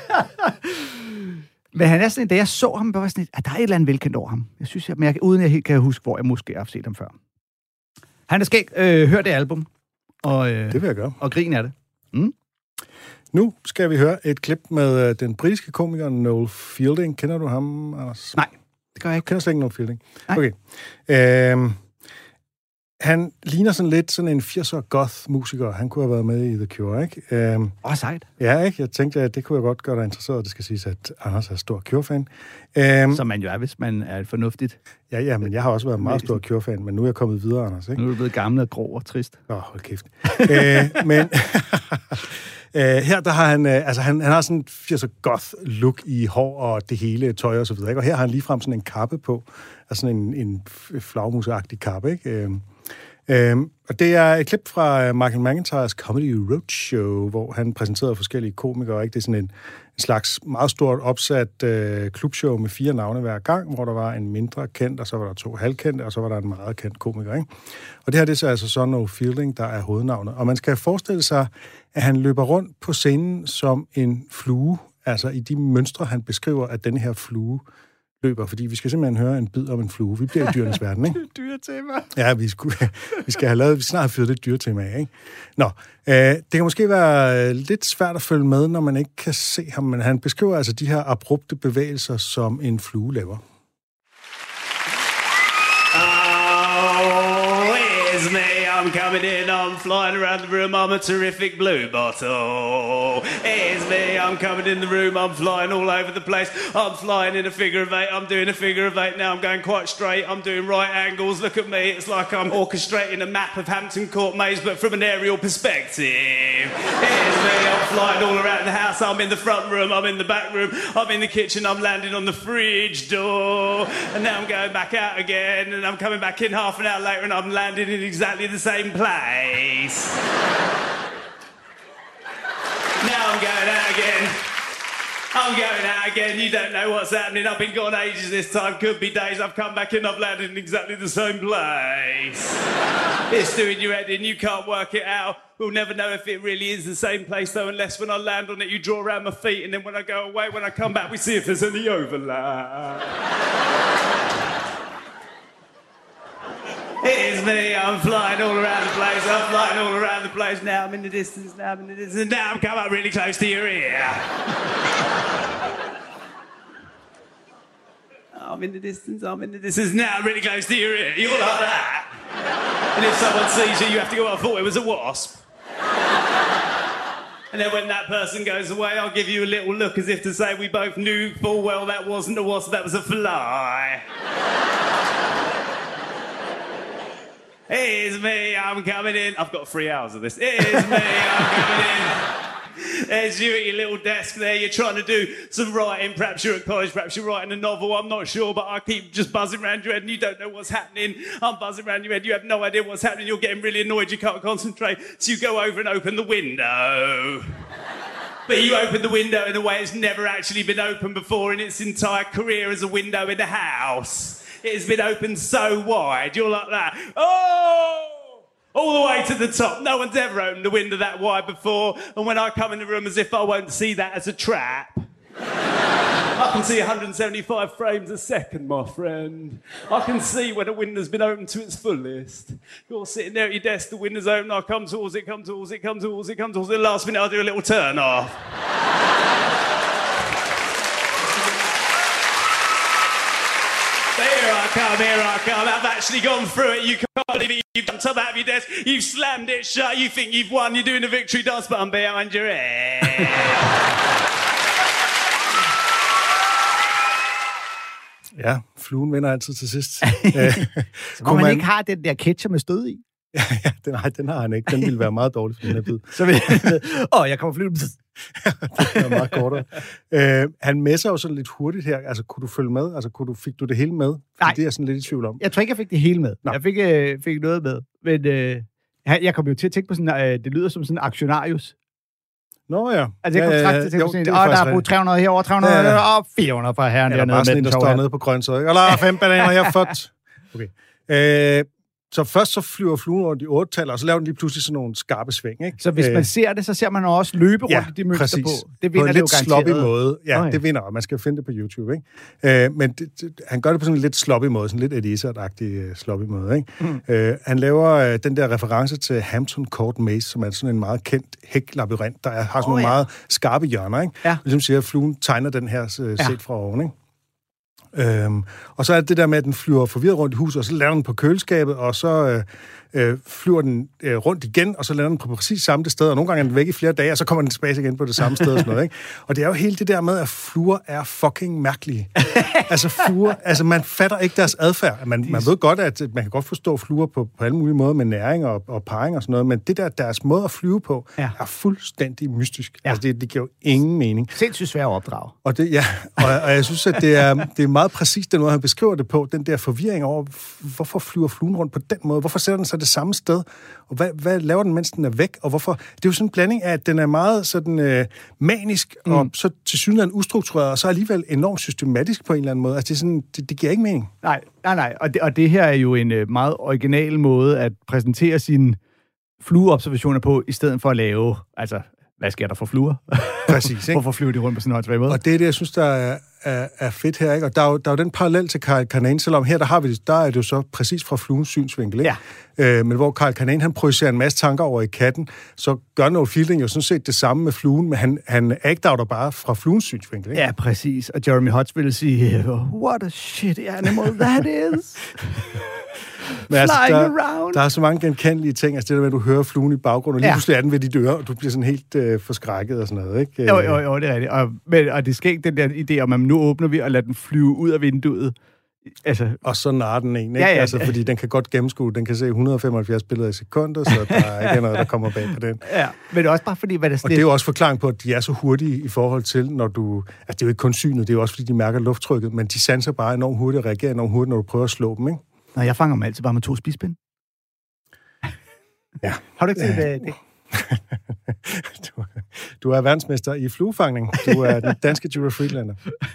Men han er sådan, da jeg så ham, var sådan, at der er et eller andet velkendt over ham. Jeg synes, uden jeg helt kan huske, hvor jeg måske har set ham før. Han er skæg. Hør det album. Og, det vil jeg gøre. Og grin af det. Mm. Nu skal vi høre et klip med den britiske komiker Noel Fielding. Kender du ham, Anders? Nej. Det gør jeg ikke. Kender slet ikke Noel Fielding? Nej. Okay. Han ligner sådan lidt sådan en 80'er goth-musiker. Han kunne have været med i The Cure, ikke? Sejt. Ja, ikke? Jeg tænkte, at det kunne jeg godt gøre dig interesseret. Det skal siges, at Anders er stor Cure-fan. Som man jo er, hvis man er fornuftigt. Ja, men jeg har også været meget stor Cure-fan, men nu er jeg kommet videre, Anders, ikke? Nu er du blevet gammel og grov og trist. Hold kæft. Men... her der har han, han har sådan en 80'er goth look i hår og det hele tøj og så videre, ikke? Og her har han ligefrem sådan en kappe på, altså sådan en flagmusagtig kappe, ikke? Og det er et klip fra Michael McIntyres Comedy Roadshow, hvor han præsenterede forskellige komikere, ikke? Det er sådan en slags meget stort opsat klubshow med 4 navne hver gang, hvor der var en mindre kendt, og så var der 2 halvkendte, og så var der en meget kendt komiker, ikke? Og det her, det er så altså Son of Fielding, der er hovednavnet. Og man skal forestille sig, at han løber rundt på scenen som en flue, altså i de mønstre, han beskriver, at denne her flue løber, fordi vi skal simpelthen høre en bid om en flue. Vi bliver i dyrenes verden, ikke? Dyretema. Ja, vi skal have lavet, vi snart har fyret det dyretema af, ikke? Nå, det kan måske være lidt svært at følge med, når man ikke kan se ham, men han beskriver altså de her abrupte bevægelser, som en flue laver. Oh, is me I'm coming in, I'm flying around the room, I'm a terrific blue bottle. It's me, I'm coming in the room, I'm flying all over the place. I'm flying in a figure of 8, I'm doing a figure of 8 now, I'm going quite straight, I'm doing right angles, look at me, it's like I'm orchestrating a map of Hampton Court Maze, but from an aerial perspective. It's me, I'm flying all around the house, I'm in the front room, I'm in the back room, I'm in the kitchen, I'm landing on the fridge door, and now I'm going back out again, and I'm coming back in half an hour later, and I'm landing in exactly the same place. Now I'm going out again. I'm going out again, you don't know what's happening. I've been gone ages this time, could be days. I've come back in, I've landed in exactly the same place. It's doing your head in, you can't work it out. We'll never know if it really is the same place though, unless when I land on it you draw around my feet, and then when I go away, when I come back, we see if there's any overlap. It is me, I'm flying all around the place, I'm flying all around the place. Now I'm in the distance, now I'm in the distance, now I'm come up really close to your ear. I'm in the distance, now I'm really close to your ear. You're like that. And if someone sees you, you have to go, I thought it was a wasp. And then when that person goes away, I'll give you a little look as if to say we both knew full well that wasn't a wasp, that was a fly. It is me, I'm coming in. I've got 3 hours of this. It is me, I'm coming in. There's you at your little desk there. You're trying to do some writing. Perhaps you're at college, perhaps you're writing a novel. I'm not sure, but I keep just buzzing around your head and you don't know what's happening. I'm buzzing around your head. You have no idea what's happening. You're getting really annoyed. You can't concentrate. So you go over and open the window. But you open the window in a way it's never actually been opened before in its entire career as a window in a house. It has been opened so wide, you're like that. Oh! All the way to the top. No one's ever opened a window that wide before. And when I come in the room as if I won't see that as a trap. I can see 175 frames a second, my friend. I can see when a window's been opened to its fullest. You're sitting there at your desk, the window's open, I come towards it. At the last minute, I'll do a little turn off. Here I come. I've actually gone through it. You can't believe it. You've jumped up out of your desk. You've slammed it shut. You think you've won. You're doing a victory dance, but I'm behind your head. Ja, fluen vinder altid til sidst. Så må man ikke have den der ketchup med stød i. Ja, den har han ikke. Den ville være meget dårlig for den her bid. Så vil jeg kommer flyve. Det er meget kortere. Han messer jo sådan lidt hurtigt her. Altså, kunne du følge med? Altså, fik du det hele med? Nej. Det er jeg sådan lidt i tvivl om. Jeg tror ikke, jeg fik det hele med. Nå. Jeg fik noget med. Men jeg kom jo til at tænke på sådan, det lyder som sådan en aktionarius. Nå ja. Altså, jeg kom straks til at tænke på sådan, der er brugt 300 herovre, 300 og 400 fra herren dernede. Ja, bare sådan en, der står nede på grøntsager, ikke? Eller 5 bananer, jeg har fået. Okay. Så først så flyver fluen rundt i 8-tal, og så laver den lige pludselig sådan nogle skarpe sving, ikke? Så hvis man ser det, så ser man også løbe rundt i de mønster præcis. på. Det vinder på en det jo lidt sloppy garanteret. måde. Ja, Okay. det vinder, og man skal jo finde det på YouTube, ikke? Men han gør det på sådan en lidt sloppy måde, sådan lidt Eddie Izzard-agtig sloppy måde, ikke? Han laver den der reference til Hampton Court Maze, som er sådan en meget kendt hæklabyrint, der har sådan nogle meget skarpe hjørner, ikke? Ja. Ligesom siger, at fluen tegner den her set fra oven, ikke? Og så er det der med, at den flyver forvirret rundt i huset, og så lander den på køleskabet, og så flyver den rundt igen, og så lander den på præcis samme sted, og nogle gange er den væk i flere dage, og så kommer den tilbage igen på det samme sted og sådan noget, ikke? Og det er jo hele det der med, at fluer er fucking mærkelige. Altså man fatter ikke deres adfærd. Man ved godt, at man kan godt forstå fluer på alle mulige måder med næring og parring og sådan noget, men det der, deres måde at flyve på, er fuldstændig mystisk. Ja. Altså det giver jo ingen mening. Sindssygt svært at opdrage. Og det, og jeg synes, at det er meget præcist den måde, han beskriver det på, den der forvirring over, hvorfor flyver fluen rundt på den måde? Hvorfor sætter den sig det samme sted? Og hvad laver den, mens den er væk? Og hvorfor? Det er jo sådan en blanding af, at den er meget sådan manisk, og så tilsyneladende ustruktureret, og så alligevel enormt systematisk på en eller anden måde. Altså det er sådan, det giver ikke mening. Nej. Og det her er jo en meget original måde at præsentere sine flueobservationer på, i stedet for at lave, altså, hvad sker der for fluer? Præcis, ikke? Hvorfor flyver de rundt på sådan en håndsvag måde? Og det er det, jeg synes, der er fedt her, ikke? Og der er jo den parallel til Carl Kanane, selvom her, der er det jo så præcis fra fluens synsvinkel, ikke? Ja. Men hvor Carl Kanane, han projicerer en masse tanker over i katten, så gør Noel Fielding jo sådan set det samme med fluen, men han agter bare fra fluens synsvinkel, ikke? Ja, præcis. Og Jeremy Hotz ville sige, what a shitty animal that is. Men altså, around. der er så mange genkendelige ting. Altså det der med, at du hører fluen i baggrunden, og lige pludselig er den ved dit øre, og du bliver sådan helt forskrækket og sådan noget, ikke? Jo, det er rigtigt. Og det sker ikke den der idé om, at nu åbner vi og lader den flyve ud af vinduet. Altså, og så narer den en, ikke? Ja, altså, fordi den kan godt gennemskue. Den kan se 175 billeder i sekunder, så der er ikke noget, der kommer bag på den. Ja, men det er også bare fordi, hvad der og det er jo også forklaring på, at de er så hurtige i forhold til, når du... Altså, det er jo ikke kun synet, det er jo også, fordi de mærker lufttrykket, men de sanser bare enormt hurtigt og reagerer enormt hurtigt, når du prøver at slå dem, ikke? Nå, jeg fanger dem altid bare med 2 spidsbind. Ja. Har du ikke set det? Du er verdensmester i fluefangning. Du er den danske Julia Friedlander.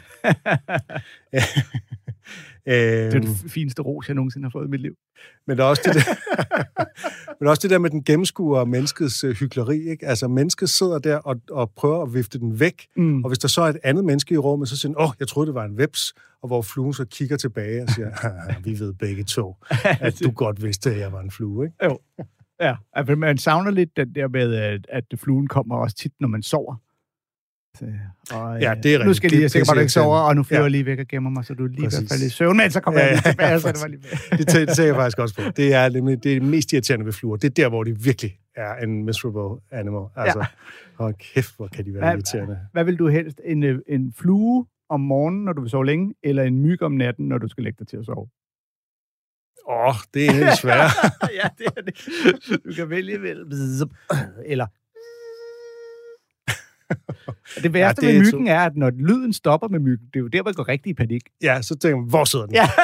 Det er det fineste ros, jeg nogensinde har fået i mit liv. Men der er også det der, med den gennemskuer menneskets hykleri, ikke? Altså, mennesket sidder der og prøver at vifte den væk, og hvis der så er et andet menneske i rummet, så siger den, jeg troede, det var en veps, og hvor fluen så kigger tilbage og siger, vi ved begge to, at du godt vidste, at jeg var en flue, ikke? Jo. Ja, altså, man savner lidt den der med, at fluen kommer også tit, når man sover. Og, ja, det er nu skal jeg lige sikkert bare, ikke sover, og nu flyver jeg lige væk og gemmer mig, så du er lige i hvert fald i søvn, men så kommer jeg lige tilbage, så det var lige det tænker jeg faktisk også på. Det er nemlig det mest irriterende ved fluer. Det er der, hvor de virkelig er en miserable animal. Altså, hold kæft, hvor kan de være irriterende. Hvad vil du helst? En flue om morgenen, når du vil sove længe, eller en myg om natten, når du skal lægge dig til at sove? Det er egentlig svært. Ja, det er det. Du kan vælge eller... Det værste med myggen er, at når lyden stopper med myggen, det er jo der, hvor jeg går rigtig i panik. Ja, så tænker man, hvor sidder den? Ja.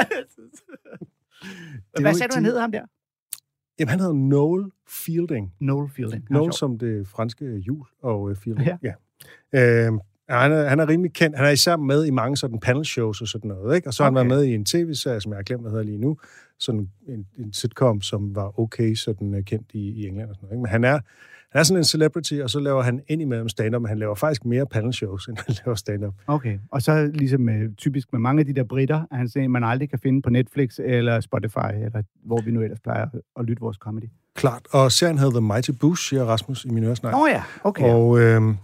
Hvad sagde du, han hed ham der? Jamen, han hedder Noel Fielding. Noel Fielding. Noel som det franske jul og Fielding. Ja. Han er rimelig kendt. Han er især med i mange sådan panel shows og sådan noget, ikke? Og så har han været med i en tv-serie, som jeg har glemt, hvad hedder lige nu. Sådan en sitcom, som var okay sådan kendt i England og sådan noget, ikke? Men han er sådan en celebrity, og så laver han indimellem stand-up, men han laver faktisk mere panel shows, end han laver stand-up. Okay, og så ligesom typisk med mange af de der britter, han siger, man aldrig kan finde på Netflix eller Spotify, eller hvor vi nu ellers plejer at lytte vores comedy. Klart, og serien hedder The Mighty Boosh, siger Rasmus i min øresnak. Ja, okay. Og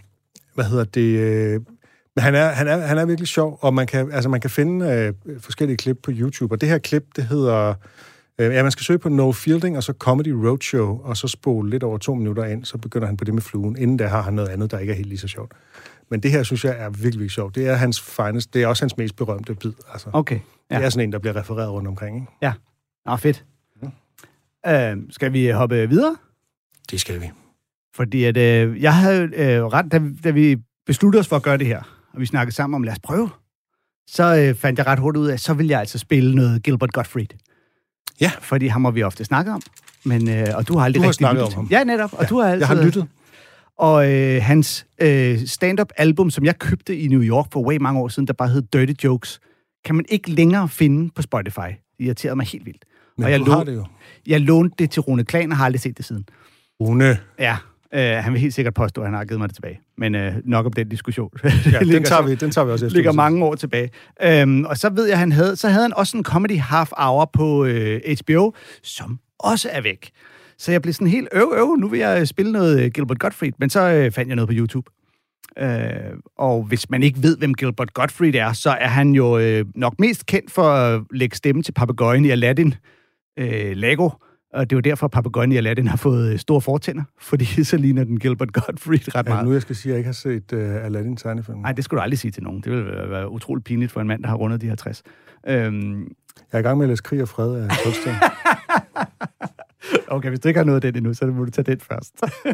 men han er virkelig sjov, og man kan finde forskellige klip på YouTube, og det her klip, det hedder... man skal søge på Noel Fielding, og så Comedy Roadshow, og så spole lidt over 2 minutter ind, så begynder han på det med fluen. Inden da har han noget andet, der ikke er helt lige så sjovt. Men det her, synes jeg, er virkelig, virkelig sjovt. Det er hans finest, det er også hans mest berømte bid. Altså. Okay. Ja. Det er sådan en, der bliver refereret rundt omkring, ikke? Ja. Fedt. Skal vi hoppe videre? Det skal vi. Fordi at, jeg havde ret, da vi besluttede os for at gøre det her, og vi snakkede sammen om, lad os prøve, så fandt jeg ret hurtigt ud af, så ville jeg altså spille noget Gilbert Gottfried. Ja. Fordi ham har vi ofte snakket om. Men, og du har aldrig rigtig snakket om ham. Ja, netop. Og du har altid... Jeg har lyttet. Og hans stand-up-album, som jeg købte i New York for way mange år siden, der bare hed Dirty Jokes, kan man ikke længere finde på Spotify. Det irriterede mig helt vildt. Men og du har det jo. Jeg lånte det til Rune Klan og har aldrig set det siden. Rune? Ja. Han vil helt sikkert påstå, at han har givet mig det tilbage. Men nok om den diskussion. Ja, den tager vi også efter. Ligger mange år tilbage. Og så ved jeg, han havde også en comedy half hour på HBO, som også er væk. Så jeg blev sådan helt nu vil jeg spille noget Gilbert Gottfried, men så fandt jeg noget på YouTube. Og hvis man ikke ved, hvem Gilbert Gottfried er, så er han jo nok mest kendt for at lægge stemme til papegøjen i Aladdin, Lego. Og det er jo derfor, at papegøjen i Aladdin har fået store fortænder, fordi så ligner den Gilbert Gottfried ret meget. Nu jeg skal sige, at jeg ikke har set Aladdin-tegnefilm. Nej, det skulle du aldrig sige til nogen. Det ville være utroligt pinligt for en mand, der har rundet de 50. Jeg er i gang med at læse Krig og Fred af Tolstoy. Okay, hvis du ikke har noget af den endnu, så må du tage den først.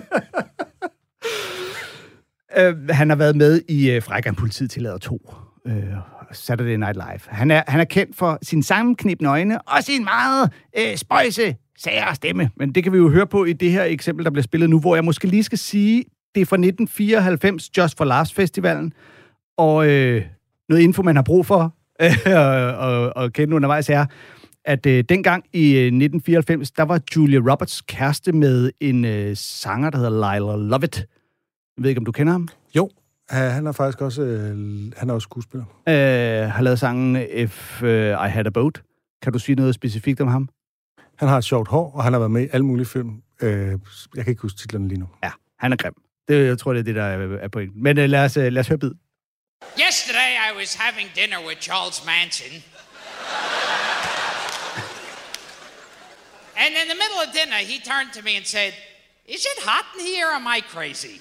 Han har været med i Frækkeren Politiet tillader 2. Saturday Night Live. Han er kendt for sin sammenknibende øjne og sin meget spøjse, sære stemme. Men det kan vi jo høre på i det her eksempel, der bliver spillet nu, hvor jeg måske lige skal sige, det er fra 1994, Just for Laughs Festivalen. Og noget info, man har brug for og kende undervejs er, at dengang i 1994, der var Julia Roberts kæreste med en sanger, der hedder Lila Lovett. Jeg ved ikke, om du kender ham? Jo. Han er faktisk også, han er også skuespiller. Har lavet sangen If I Had a Boat. Kan du sige noget specifikt om ham? Han har et sjovt hår, og han har været med i alle mulige film. Jeg kan ikke huske titlerne lige nu. Ja, han er grim. Jeg tror, det er det, der er pointen. Men lad os høre bid. Yesterday I was having dinner with Charles Manson. And in the middle of dinner, he turned to me and said, "Is it hot in here or am I crazy?"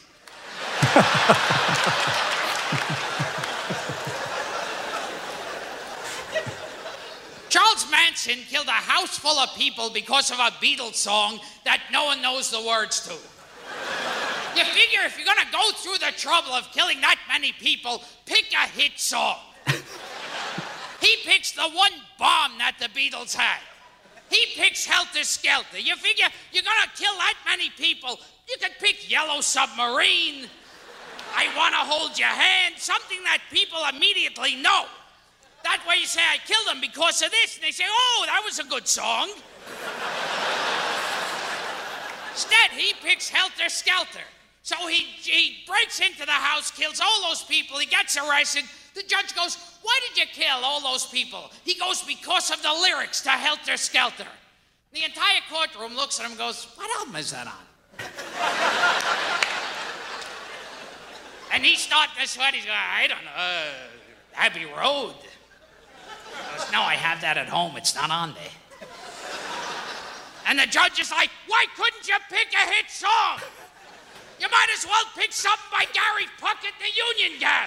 Charles Manson killed a house full of people because of a Beatles song that no one knows the words to. You figure if you're gonna go through the trouble of killing that many people, pick a hit song. He picks the one bomb that the Beatles had. He picks Helter Skelter. You figure you're gonna kill that many people, you could pick Yellow Submarine, I Wanna Hold Your Hand, something that people immediately know. That way you say, I killed him because of this, and they say, oh, that was a good song. Instead, he picks Helter Skelter. So he breaks into the house, kills all those people, he gets arrested. The judge goes, why did you kill all those people? He goes, because of the lyrics to Helter Skelter. The entire courtroom looks at him and goes, what album is that on? And he's starting to sweat. He's going, I don't know, Abbey Road. He goes, no, I have that at home. It's not on there. And the judge is like, why couldn't you pick a hit song? You might as well pick something by Gary Puckett, the Union Gap.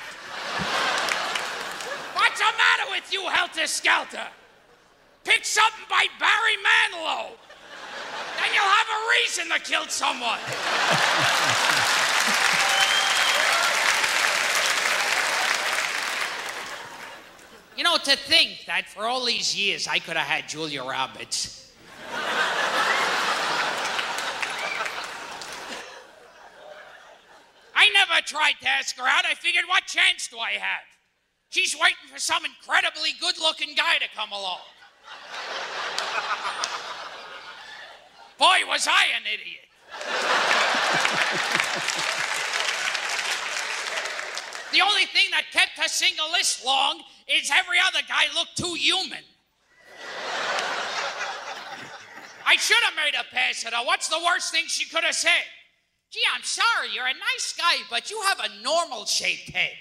What's the matter with you, Helter Skelter? Pick something by Barry Manilow. Then you'll have a reason to kill someone. You know, to think that for all these years I could have had Julia Roberts. I never tried to ask her out. I figured, what chance do I have? She's waiting for some incredibly good-looking guy to come along. Boy, was I an idiot. The only thing that kept her single this long is every other guy looked too human. I should have made her pass it. What's the worst thing she could have said? Gee, I'm sorry, you're a nice guy, but you have a normal-shaped head.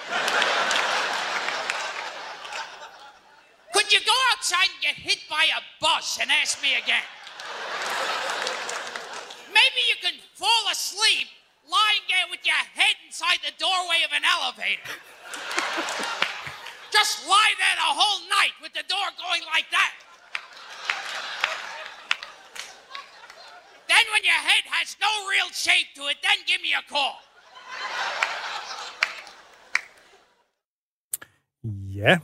Could you go outside and get hit by a bus and ask me again? Maybe you can fall asleep lying there with your head inside the doorway of an elevator. Just lie there the whole night with the door going like that. Then when your head has no real shape to it, then give me a call. Ja,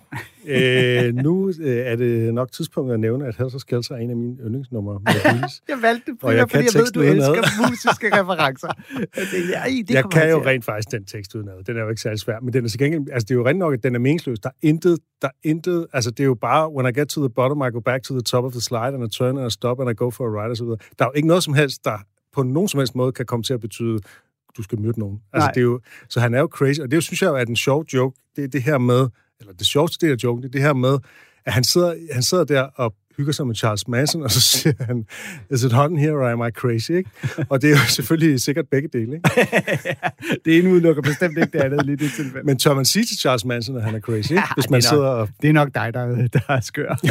nu er det nok tidspunktet at nævne, at Helter Skelter er en af mine yndlingsnumre. Jeg valgte det, fordi jeg ved, du elsker musiske referencer. Jeg kan jo rent faktisk den tekst udenad. Den er jo ikke særlig svær, men den er til gengæld, altså det er jo rent nok, at den er meningsløs. Der er intet, altså det er jo bare, when I get to the bottom, I go back to the top of the slide, and I turn, and I stop, and I go for a ride, og så videre. Der er jo ikke noget som helst, der på nogen som helst måde kan komme til at betyde, du skal myrde nogen. Altså det er jo, så han er jo crazy, og det synes jeg jo er en sjov joke. Det er det her med, eller det sjoveste del af joken, det er det her med, at han sidder der og hygger sig med Charles Manson, og så siger han, is it hot in here, or am I crazy, ikke? Og det er jo selvfølgelig sikkert begge dele, ikke? Det ene udelukker bestemt ikke det andet lige det tilfælde. Men tør man sige til Charles Manson, at han er crazy, ikke? Hvis man sidder og... Det er nok dig, der er skør.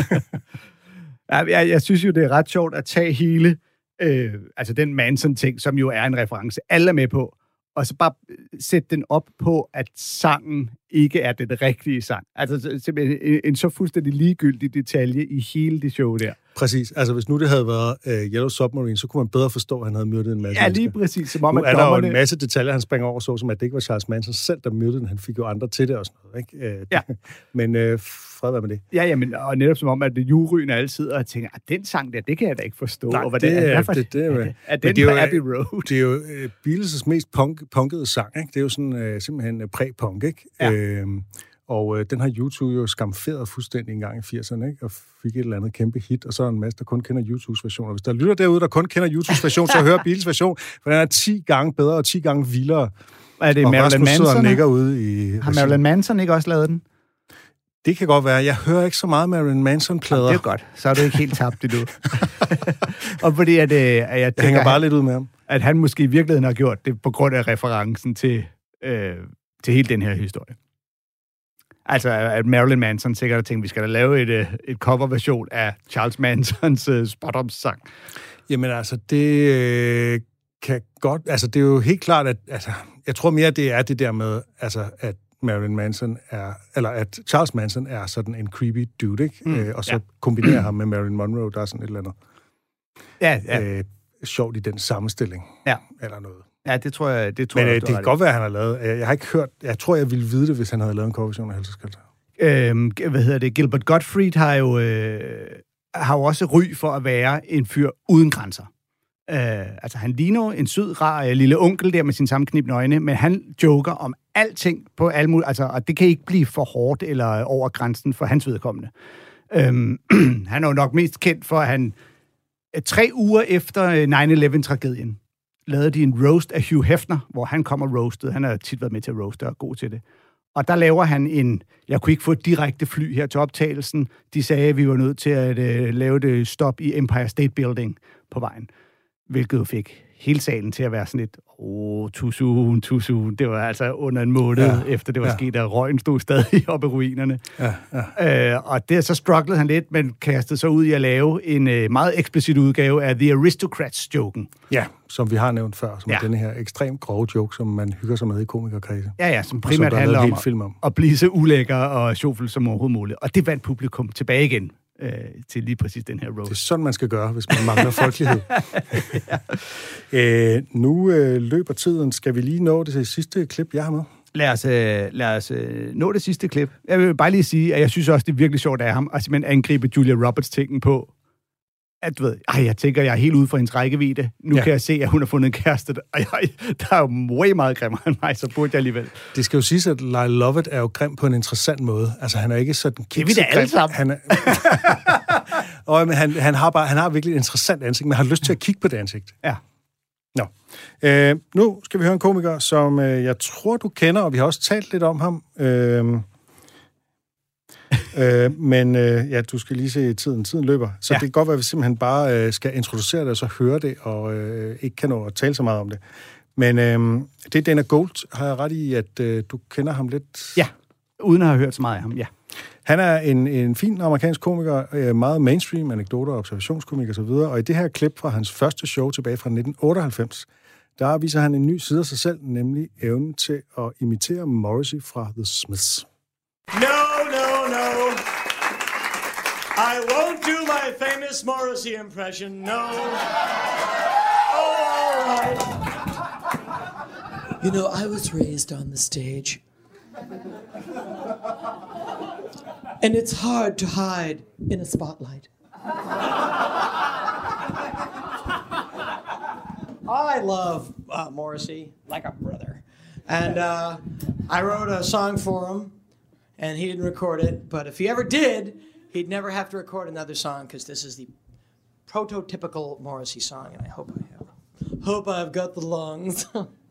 Jeg synes jo, det er ret sjovt at tage hele, altså den Manson-ting, som jo er en reference, alle er med på, og så bare sætte den op på, at sangen ikke er den rigtige sang. Altså simpelthen en så fuldstændig ligegyldig detalje i hele det show der. Præcis. Altså hvis nu det havde været Yellow Submarine, så kunne man bedre forstå, at han havde myrdet en masse. Ja, lige præcis. Som om, nu er der jo en masse detaljer, han springer over, så som at det ikke var Charles Manson selv, der myrdede den. Han fik jo andre til det og sådan noget, ikke? Ja. Men fred være med det. Ja, men og netop som om, at juryen altid og tænker, at den sang der, det kan jeg da ikke forstå. Nej, og hvad det er den på Abbey Road. Det er jo Beatles' mest punkede sang, ikke? Det er jo sådan simpelthen præ-punk, ikke? Ja. Og den har YouTube jo skamferet fuldstændig en gang i 80'erne, ikke? Og fik et eller andet kæmpe hit, og så er en masse, der kun kender YouTubes version. Og hvis der lytter derude, der kun kender YouTubes version, så hør Beatles version, for den er 10 gange bedre og 10 gange vildere. Er det Marilyn Manson? Ude i har Marilyn Manson ikke også lavet den? Det kan godt være. Jeg hører ikke så meget Marilyn Manson-plader. Det er godt. Så er du ikke helt tabt endnu. Og fordi at jeg hænger bare lidt ud med ham. At han måske i virkeligheden har gjort det på grund af referencen til hele den her historie. Altså, at Marilyn Manson sikkert har tænkt, vi skal da lave et coverversion af Charles Mansons Spot-Up-sang. Jamen altså, det kan godt... Altså, det er jo helt klart, at... Altså, jeg tror mere, det er det der med, altså, at Marilyn Manson er... Eller at Charles Manson er sådan en creepy dude, ikke? Og så kombinerer ham med Marilyn Monroe, der er sådan et eller andet... sjovt i den sammenstilling. Ja. Eller noget. Ja, det tror jeg... Men det kan godt være, at han har lavet... Jeg har ikke hørt... Jeg tror, jeg ville vide det, hvis han havde lavet en coverversion af Helseskelter. Gilbert Gottfried har jo også ry for at være en fyr uden grænser. Altså, han ligner en sød, rar lille onkel der med sin sammenknibne øjne, men han joker om alting på alle mulige... Altså, og det kan ikke blive for hårdt eller over grænsen for hans vedkommende. Han er jo nok mest kendt for, at han 3 uger efter 9/11-tragedien lavede de en roast af Hugh Hefner, hvor han kommer roastet. Han har tit været med til at roaste og er god til det. Og der laver han jeg kunne ikke få et direkte fly her til optagelsen. De sagde, at vi var nødt til at lave det stop i Empire State Building på vejen. Hvilket jo fik hele salen til at være sådan lidt, too soon. Det var altså under en måned efter det var sket, og røgen stod stadig oppe i ruinerne. Og det så strugglede han lidt, men kastede sig ud i at lave en meget eksplicit udgave af The Aristocrats-joken. Ja, som vi har nævnt før, som er denne her ekstremt grove joke, som man hygger sig med i komikerkredse. Ja, som primært handler om at blive så ulækker og sjovfuld som overhovedet muligt. Og det vandt publikum tilbage igen til lige præcis den her roast. Det er sådan, man skal gøre, hvis man mangler folkelighed. Nu løber tiden. Skal vi lige nå det sidste klip, jeg har med? Lad os nå det sidste klip. Jeg vil bare lige sige, at jeg synes også, det er virkelig sjovt af ham at simpelthen angribe Julia Roberts-tingen på, at du ved, jeg tænker, jeg er helt ude for hendes rækkevidde. Nu kan jeg se, at hun har fundet en kæreste, og der er jo way meget grimmere end mig, så burde jeg alligevel. Det skal jo siges, at Lyle Lovett er jo grim på en interessant måde. Altså, han er ikke sådan kikset. Det er vi da alle sammen. Men han har virkelig et interessant ansigt, men har lyst til at kigge på det ansigt. Ja. Nå. Nu skal vi høre en komiker, som jeg tror, du kender, og vi har også talt lidt om ham. Men du skal lige se tiden. Tiden løber. Så det kan godt være, at vi simpelthen bare skal introducere det, og så høre det, og ikke kan nå at tale så meget om det. Men det er Dana Gould. Har jeg ret i, at du kender ham lidt? Ja, uden at have hørt så meget af ham, ja. Han er en fin amerikansk komiker, meget mainstream, anekdoter, observationskomik og så videre. Og i det her klip fra hans første show tilbage fra 1998, der viser han en ny side af sig selv, nemlig evnen til at imitere Morrissey fra The Smiths. No. I won't do my famous Morrissey impression, no. All right. You know, I was raised on the stage. And it's hard to hide in a spotlight. I love Morrissey like a brother. And I wrote a song for him, and he didn't record it. But if he ever did, he'd never have to record another song, because this is the prototypical Morrissey song, and I hope I've got the lungs.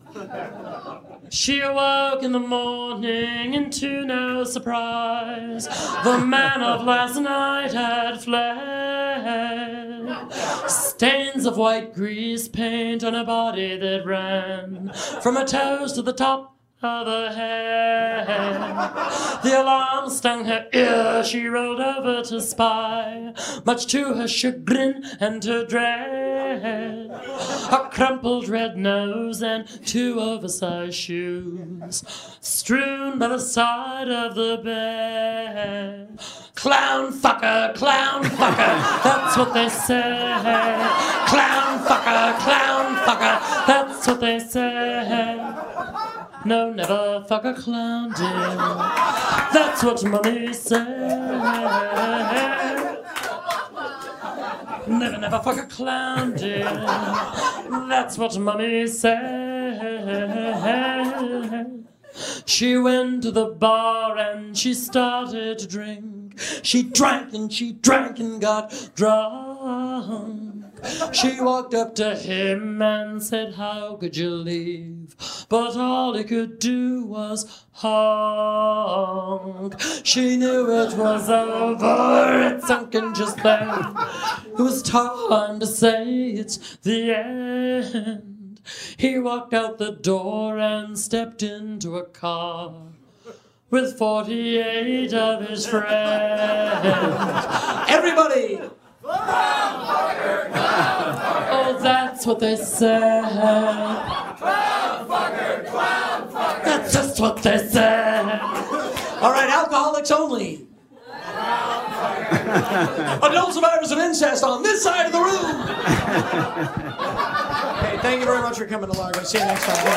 She awoke in the morning and to no surprise, the man of last night had fled. Stains of white grease paint on a body that ran from her toes to the top of her head. The alarm stung her ear, she rolled over to spy, much to her chagrin and her dread. A crumpled red nose and 2 oversized shoes strewn by the side of the bed. Clown fucker, that's what they say. Clown fucker, that's what they say. No, never fuck a clown, dear. That's what mommy said. Never fuck a clown, dear. That's what mommy said. She went to the bar and she started to drink. She drank and got drunk. She walked up to him and said, "How could you leave?" But all he could do was honk. She knew it was over, it sunk in just then. It was time to say it's the end. He walked out the door and stepped into a car. with 48 of his friends. Everybody! Oh, that's what they said. That's just what they said. All right, alcoholics only. Adult survivors of incest on this side of the room. Hey, thank you very much for coming along. I'll see you next time.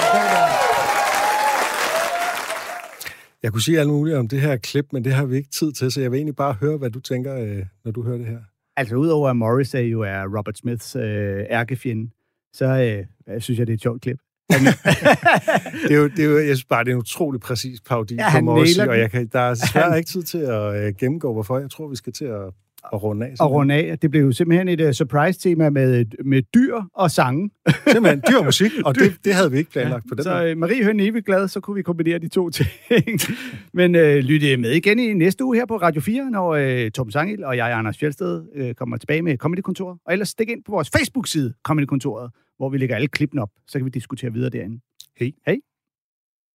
Jeg kunne sige alt muligt om det her klip, men det har vi ikke tid til, så jeg vil egentlig bare høre, hvad du tænker, når du hører det her. Altså, udover at Morrissey jo er Robert Smiths ærkefjende, så synes jeg, det er et sjovt klip. det er jo, jeg synes bare, det er en utrolig præcis parodi på Morrissey, og der er svært ikke tid til at gennemgå, hvorfor. Jeg tror, vi skal til at runde af. Og runde af. Det blev jo simpelthen et surprise-tema med dyr og sange. Simpelthen dyr og musik, og det havde vi ikke planlagt på den så måde. Marie Høen evigt glad, så kunne vi kombinere de to ting. Men lytte med igen i næste uge her på Radio 4, når Torben Sangil og jeg, Anders Fjeldsted, kommer tilbage med Comedy-kontoret. Og ellers stik ind på vores Facebook-side, Comedy-kontoret, hvor vi lægger alle klippene op, så kan vi diskutere videre derinde. Hej. Hej.